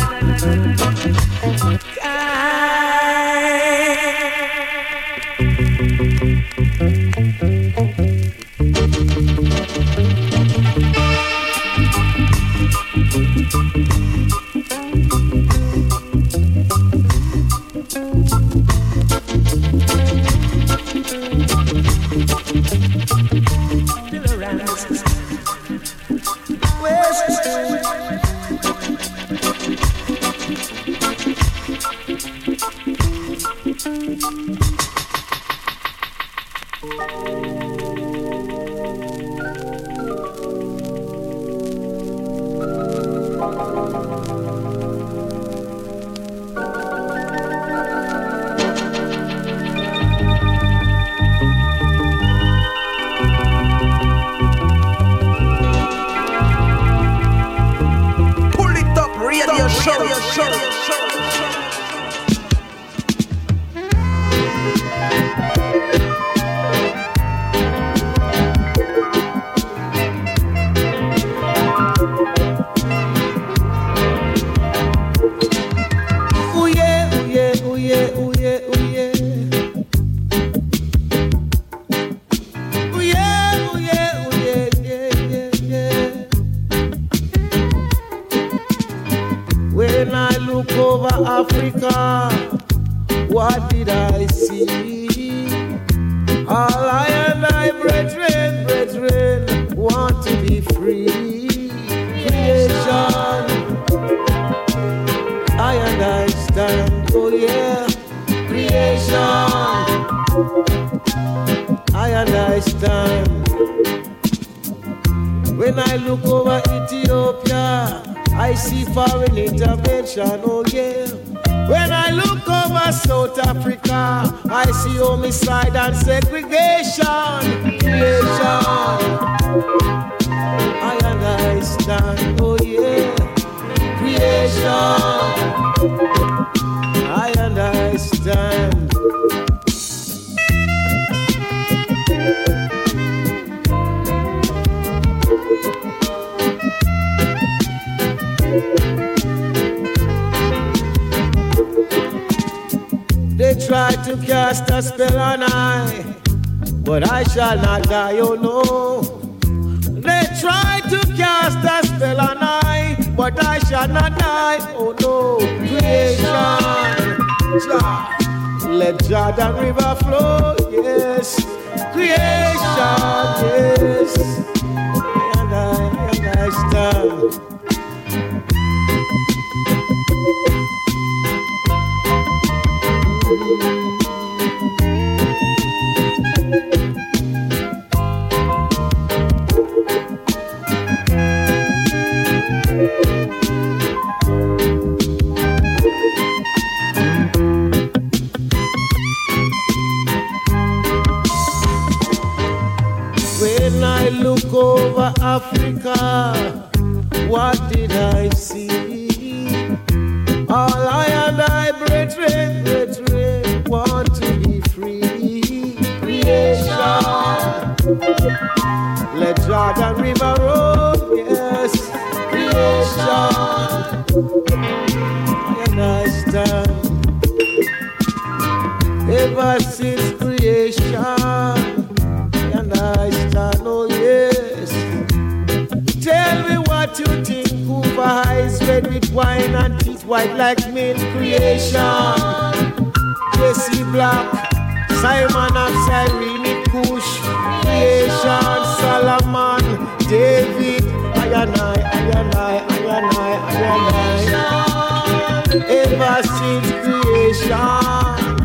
[SPEAKER 9] Shall not die, oh no. They try to cast a spell on I, but I shall not die, oh no. Creation, Jah, let Jordan River flow, yes. Creation, yes. time. When I look over Africa, what did I see? All I and I, brethren, brethren, want to be free. Creation, let Jordan River roll, yes. Creation, and I stand. Ever since creation, and I stand, oh yes. Tell me what you think. Hoover eyes red with wine and teeth white like milk. Creation. Jesse Black, Simon of Cyrene, Kush. Creation. Solomon, David. I and I, I and I, I and I, I and I. Ever since creation.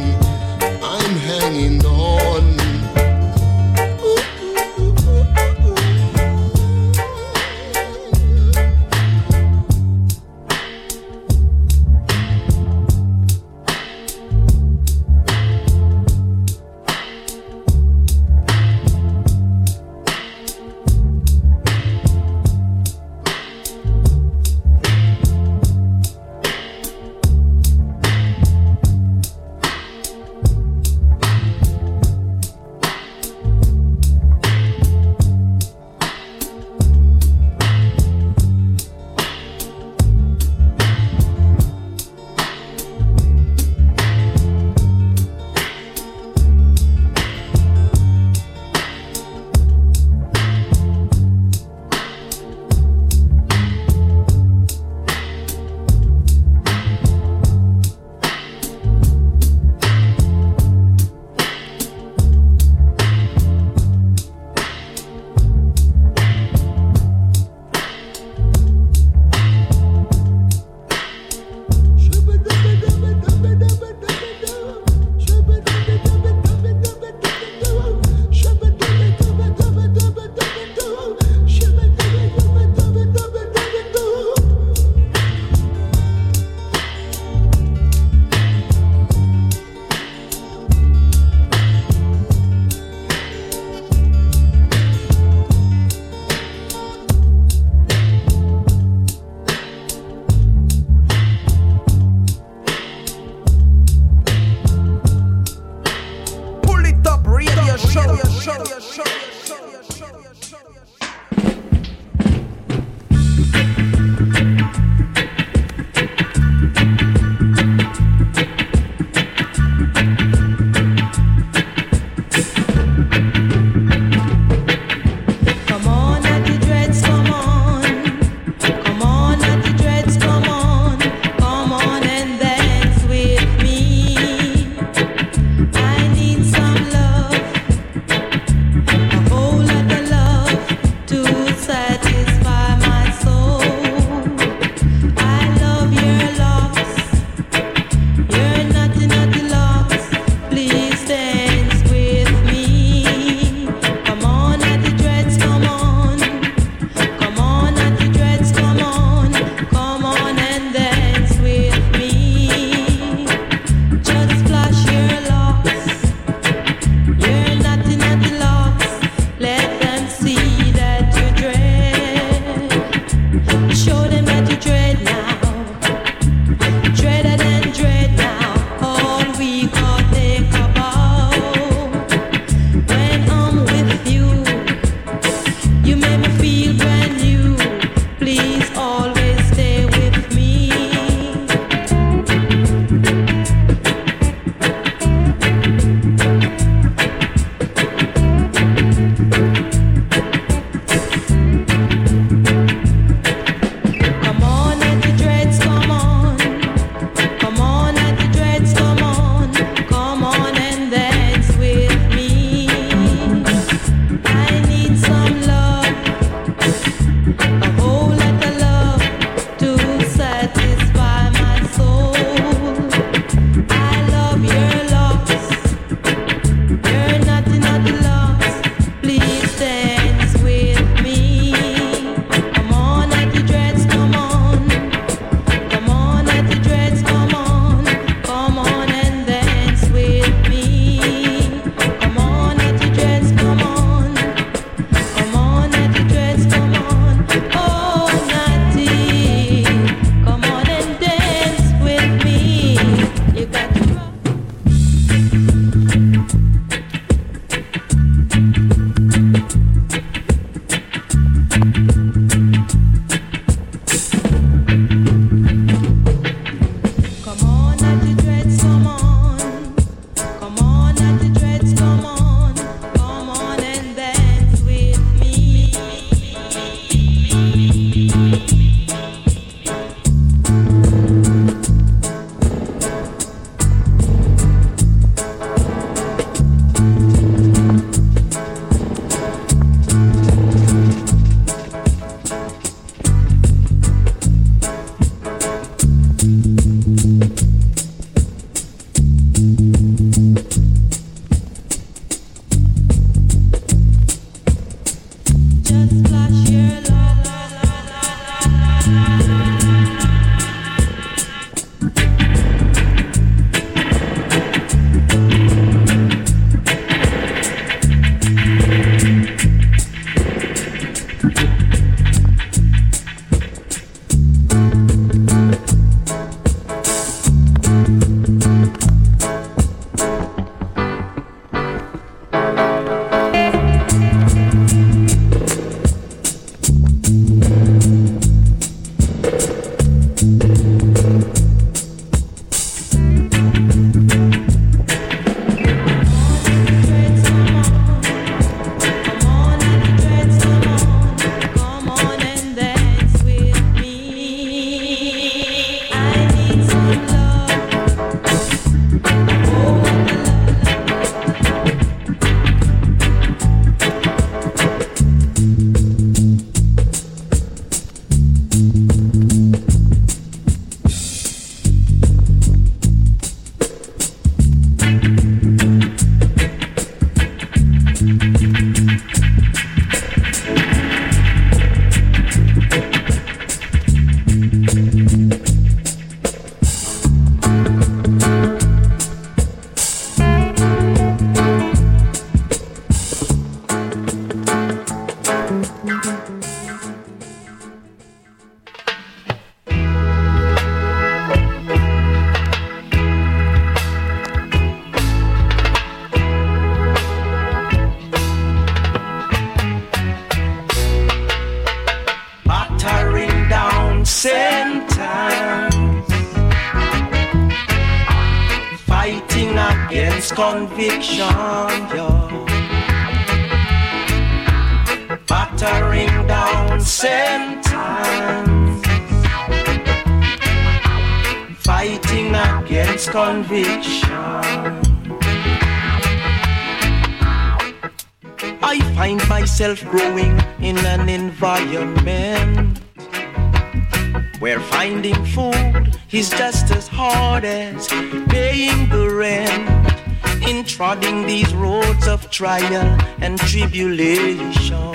[SPEAKER 3] Hanging on. Ooh, ooh, ooh, ooh.
[SPEAKER 10] You make me feel brand new. Please always stay with me. Come on at the dreads, come on. Come on at the dreads, come on. Come on and dance with me. I need some love, a whole lot of love to satisfy my soul. I love your locks, you're nothing at the loss. Please dance with me. Come on at the dreads, come on. Come on at the dreads, come on. Come on and dance with me. Come on at the dreads, come on. Come on at the dreads, come on. Oh, Natty, come on and dance with me. You got to rock. Come on at the dreads, come on. Come on at the dreads, come on. Come on and dance with me. Just flash your love.
[SPEAKER 8] against conviction, yo. Battering down sentence, fighting against conviction. I find myself growing in an environment where finding food is just as hard as paying the rent. In trotting these roads of trial and tribulation,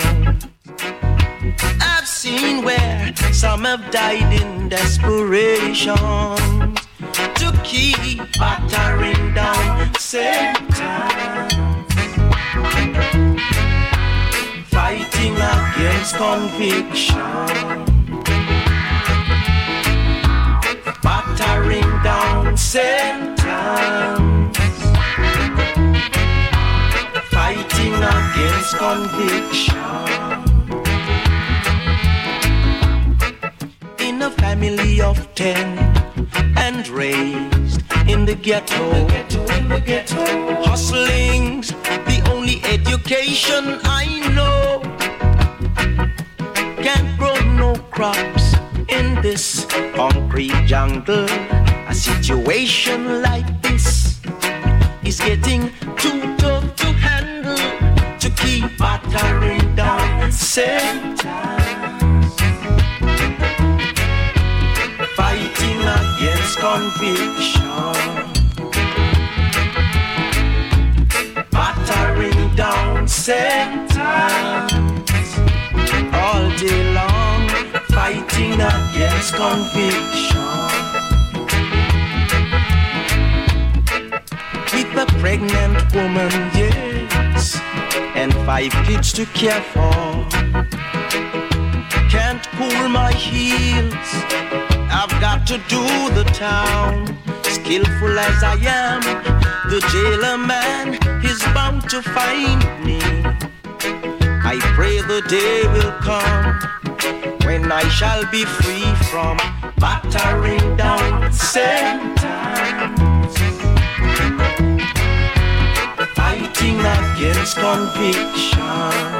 [SPEAKER 8] I've seen where some have died in desperation to keep battering down Satan, fighting against conviction. Battering down sentence, fighting against conviction. ten and raised in the ghetto. In the ghetto, in the ghetto. Hustling's the only education I know. Can't grow no crops in this concrete jungle. A situation like this is getting too tough to handle to keep battering down sentence. Fighting against conviction, battering down sentence. All day long, fighting against conviction. With a pregnant woman, yes, and five kids to care for. Can't cool my heels, I've got to do the town. Skillful as I am, the jailer man is bound to find me. I pray the day will come when I shall be free from battering down sentence. Fighting against conviction,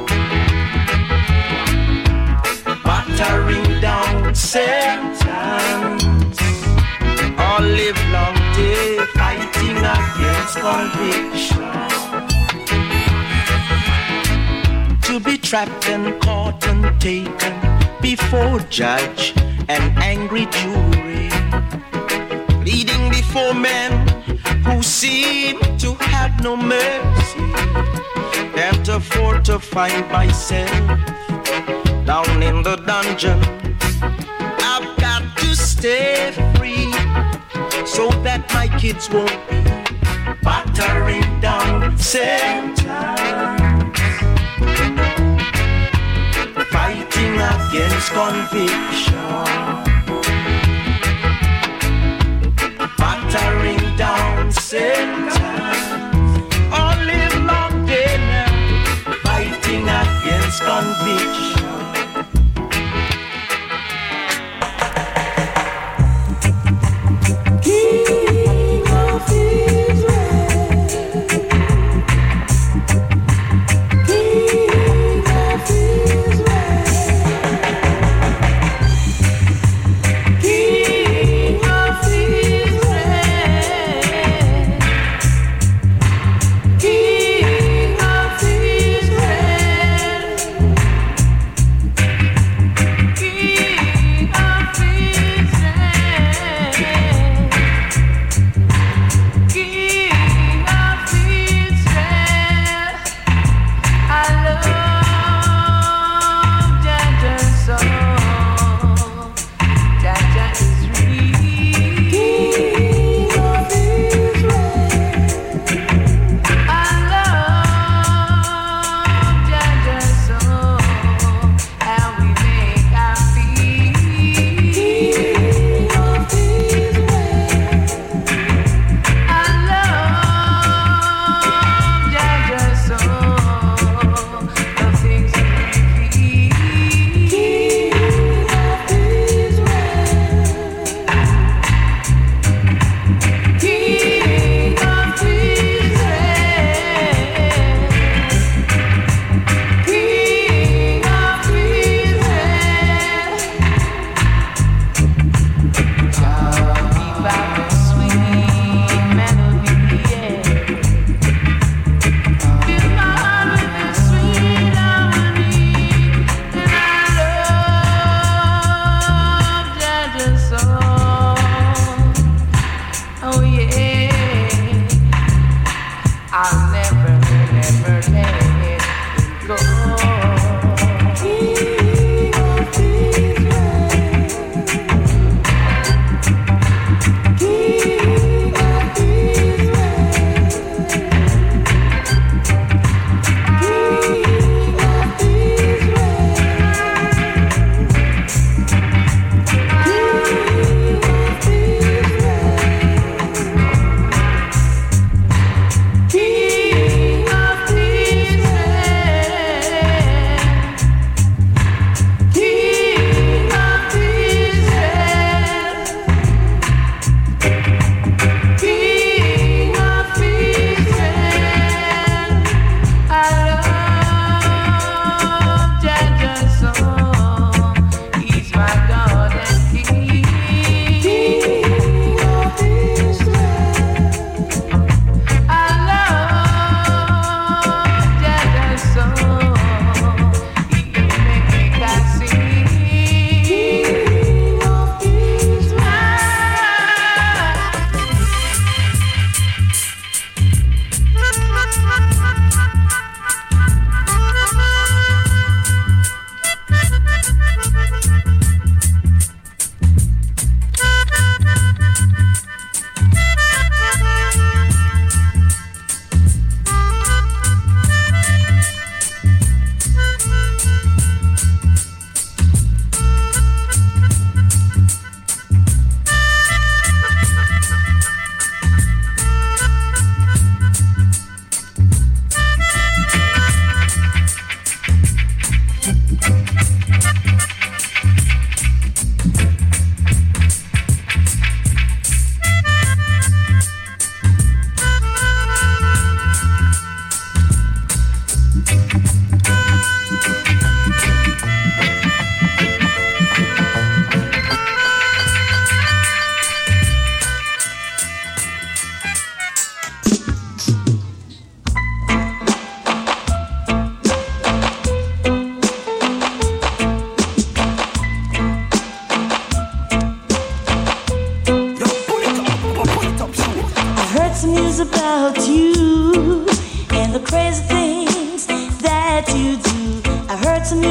[SPEAKER 8] battering down sentence. All live long day fighting against conviction. To be trapped and caught and taken before judge and angry jury, pleading before men who seem to have no mercy. Can't afford to find myself down in the dungeon. I've got to stay free so that my kids won't be battering down sentence. Fighting against conviction, battering down sentence. All live long day now, fighting against conviction.
[SPEAKER 10] King of Israel, King of Israel, King of Israel, King of Israel.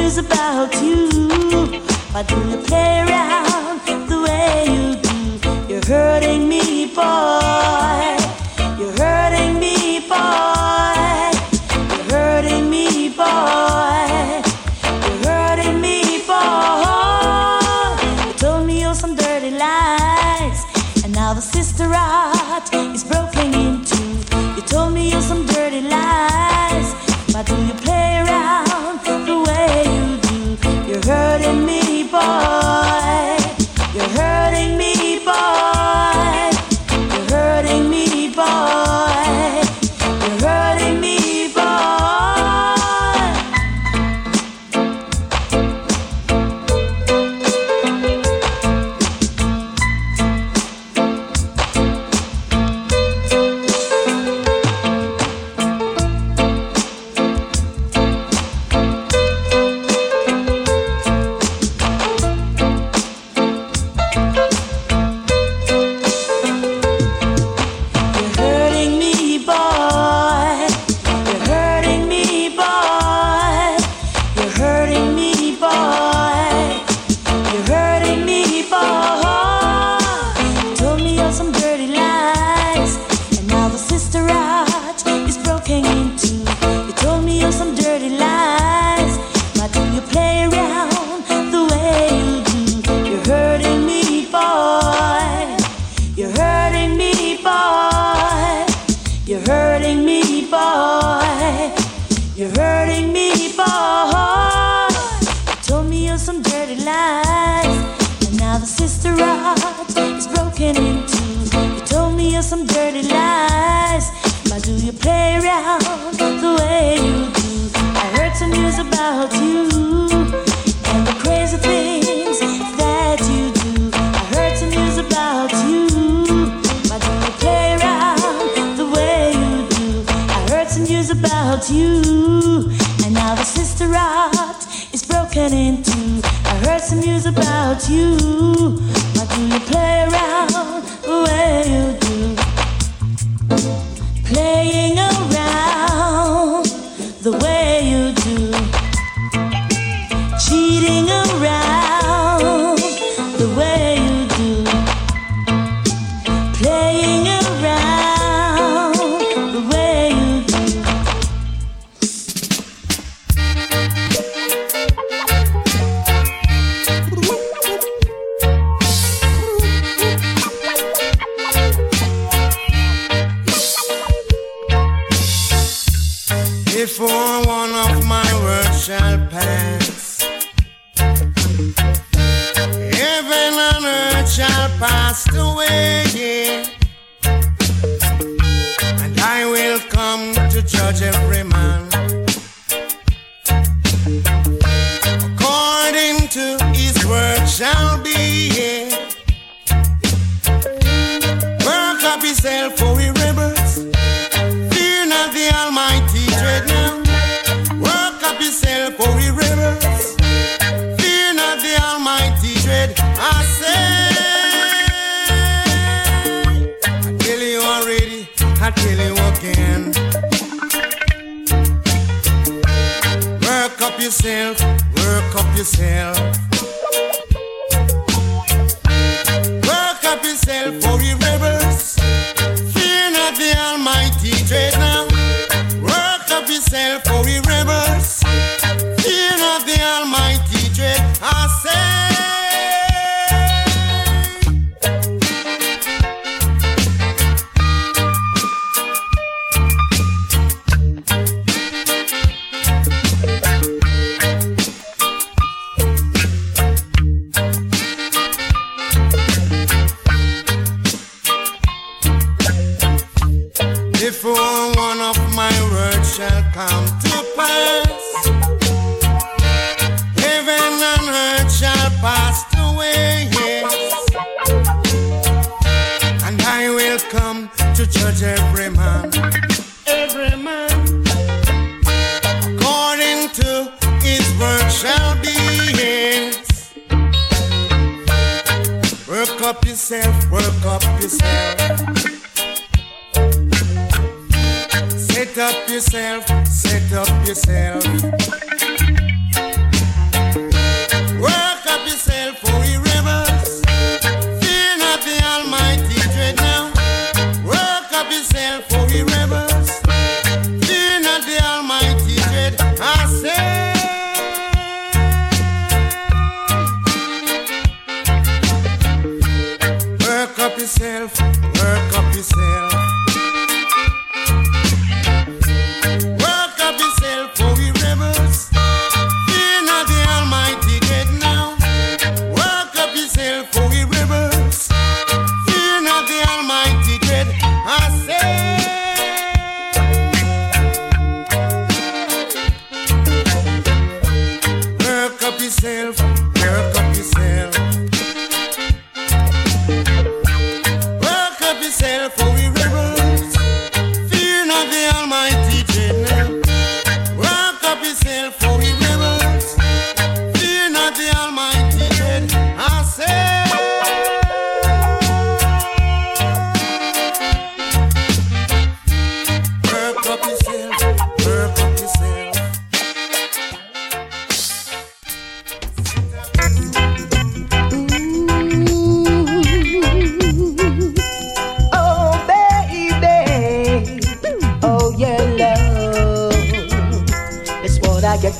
[SPEAKER 10] news about you. Why do you play around the way you do? You're hurting me, boy. You're hurting me, boy. You're hurting me, boy. You're hurting me, boy. You told me all some dirty lies, and now the sister heart is broken in two. You told me all some dirty lies. Why do you play around the way you do? You're hurting me, boy. You're hurting me, boy. You're hurting me, boy. You're hurting me, boy.
[SPEAKER 3] Set up yourself, set up yourself.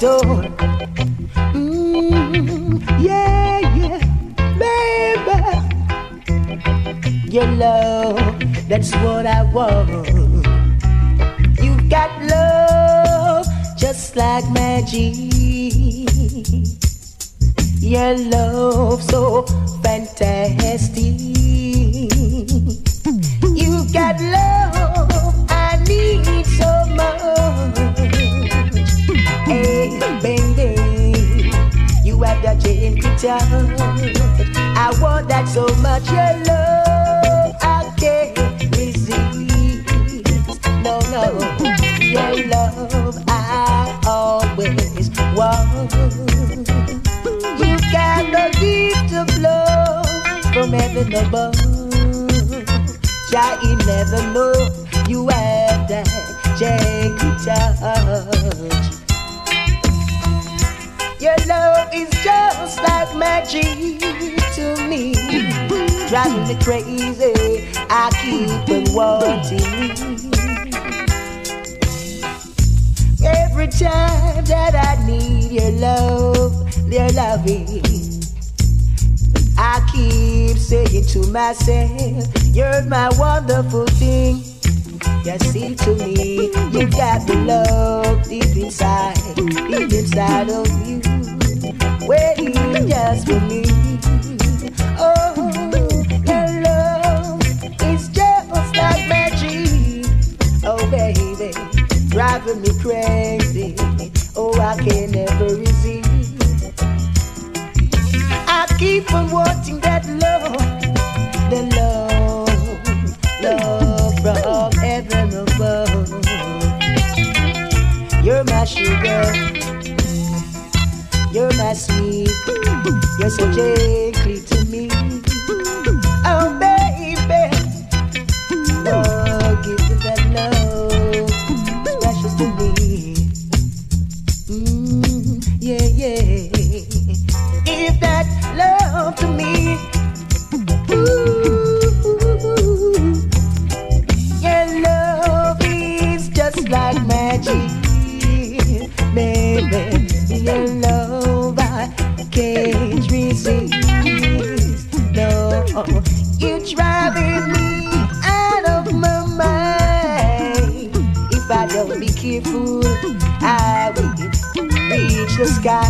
[SPEAKER 6] door. Mm, yeah, yeah, baby. Your love, that's what I want. You've got love just like magic. Your love so fantastic. You got love I need so much. Hey, baby, you have that gentle touch. I want that so much. Your love I can't resist. No, no, your love I always want. You got the gift of love from heaven above. Child, you never know you have that gentle touch. Your love is just like magic to me, driving me crazy. I keep on wanting. Every time that I need your love, your loving, I keep saying to myself, you're my wonderful thing. You see to me, you got the love deep inside, deep inside of you, waiting just for me. Oh, your love is just like magic. Oh, baby, driving me crazy. Oh, I can never resist. I keep on wanting that love, the love, love from heaven above. You're my sugar, you're my sweet, you're so gently to me. Oh baby, oh give me that love, it's precious to me. Mm, yeah, yeah. Give that love to me. Ooh, your love is just like magic, baby. Your love I can't resist. No, you're driving me out of my mind. If I don't be careful, I will reach the sky.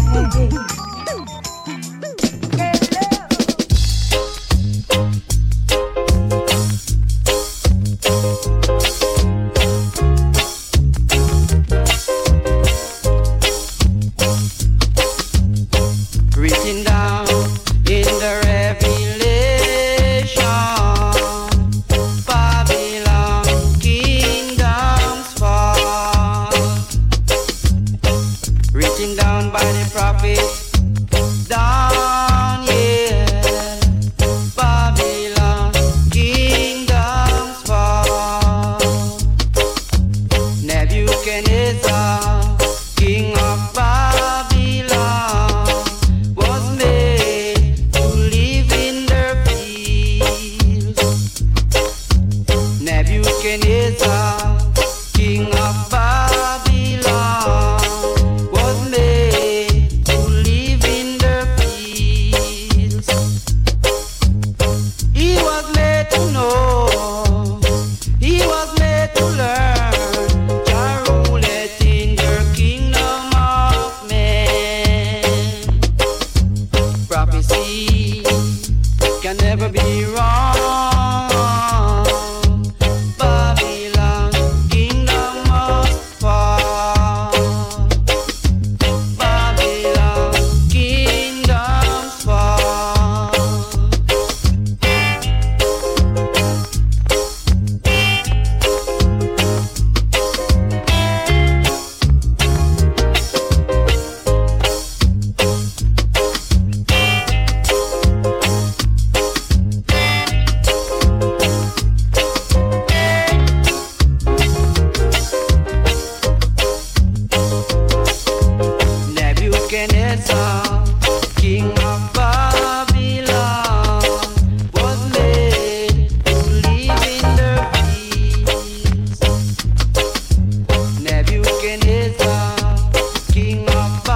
[SPEAKER 8] Nebuchadnezzar, king of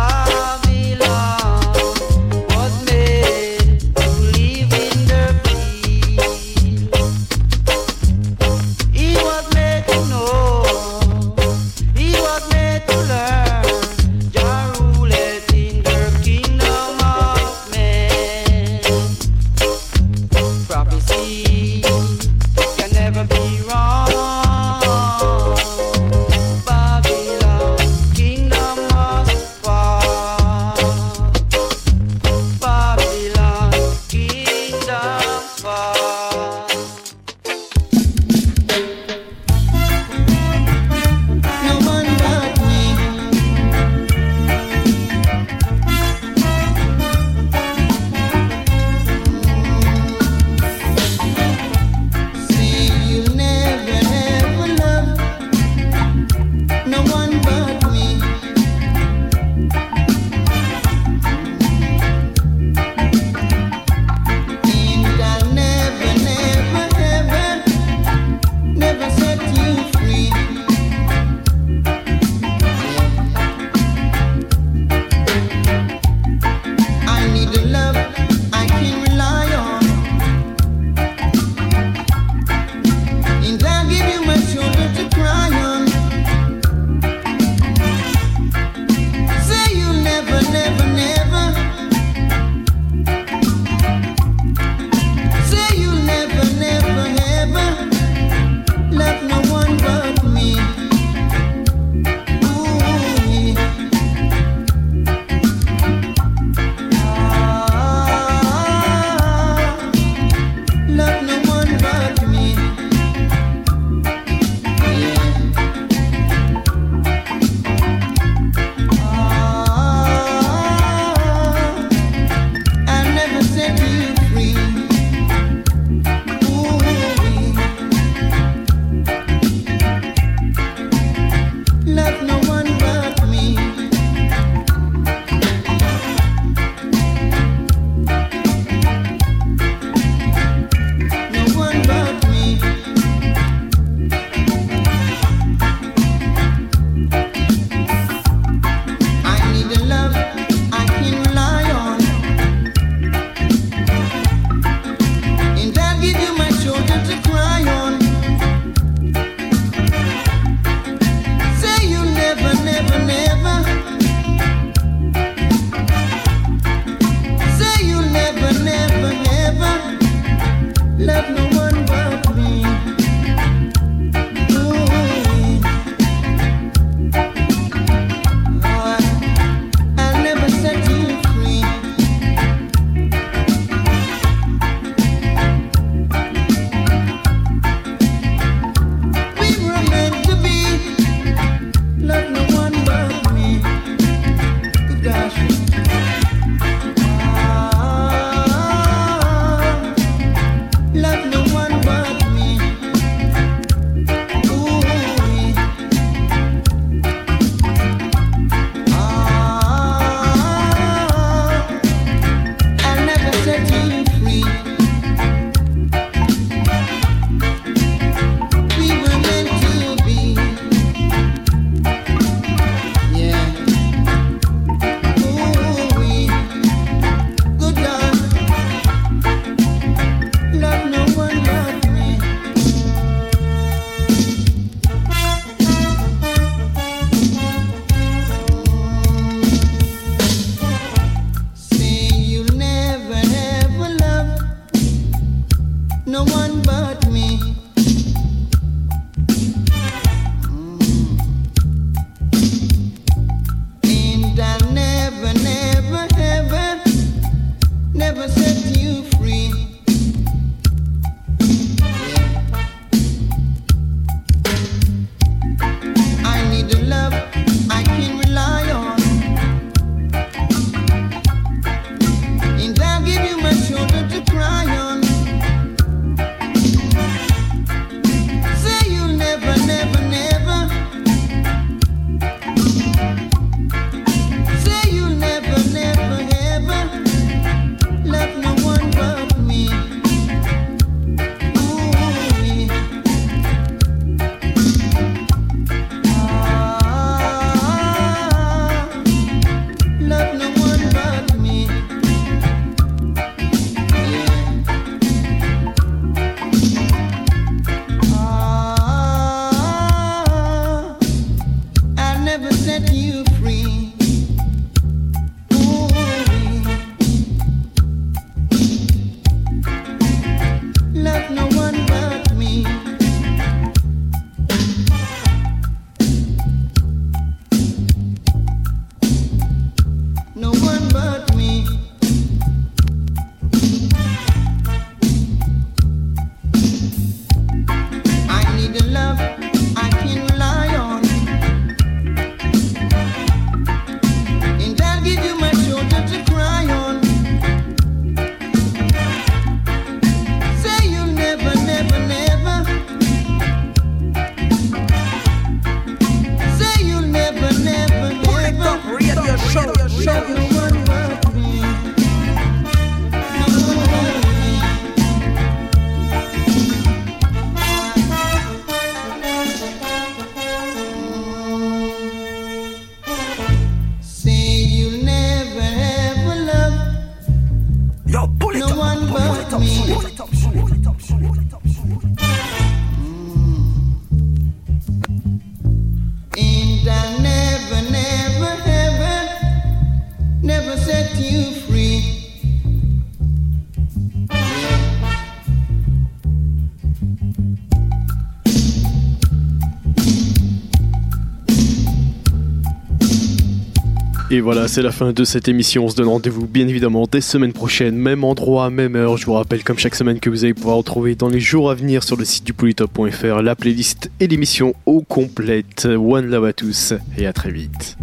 [SPEAKER 2] voilà, c'est la fin de cette émission. On se donne rendez-vous bien évidemment dès semaine prochaine, même endroit, même heure. Je vous rappelle comme chaque semaine que vous allez pouvoir retrouver dans les jours à venir sur le site du polytop point f r la playlist et l'émission au complète. One love à tous et à très vite.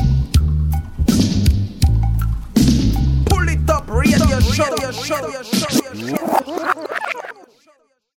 [SPEAKER 8] show, show, show.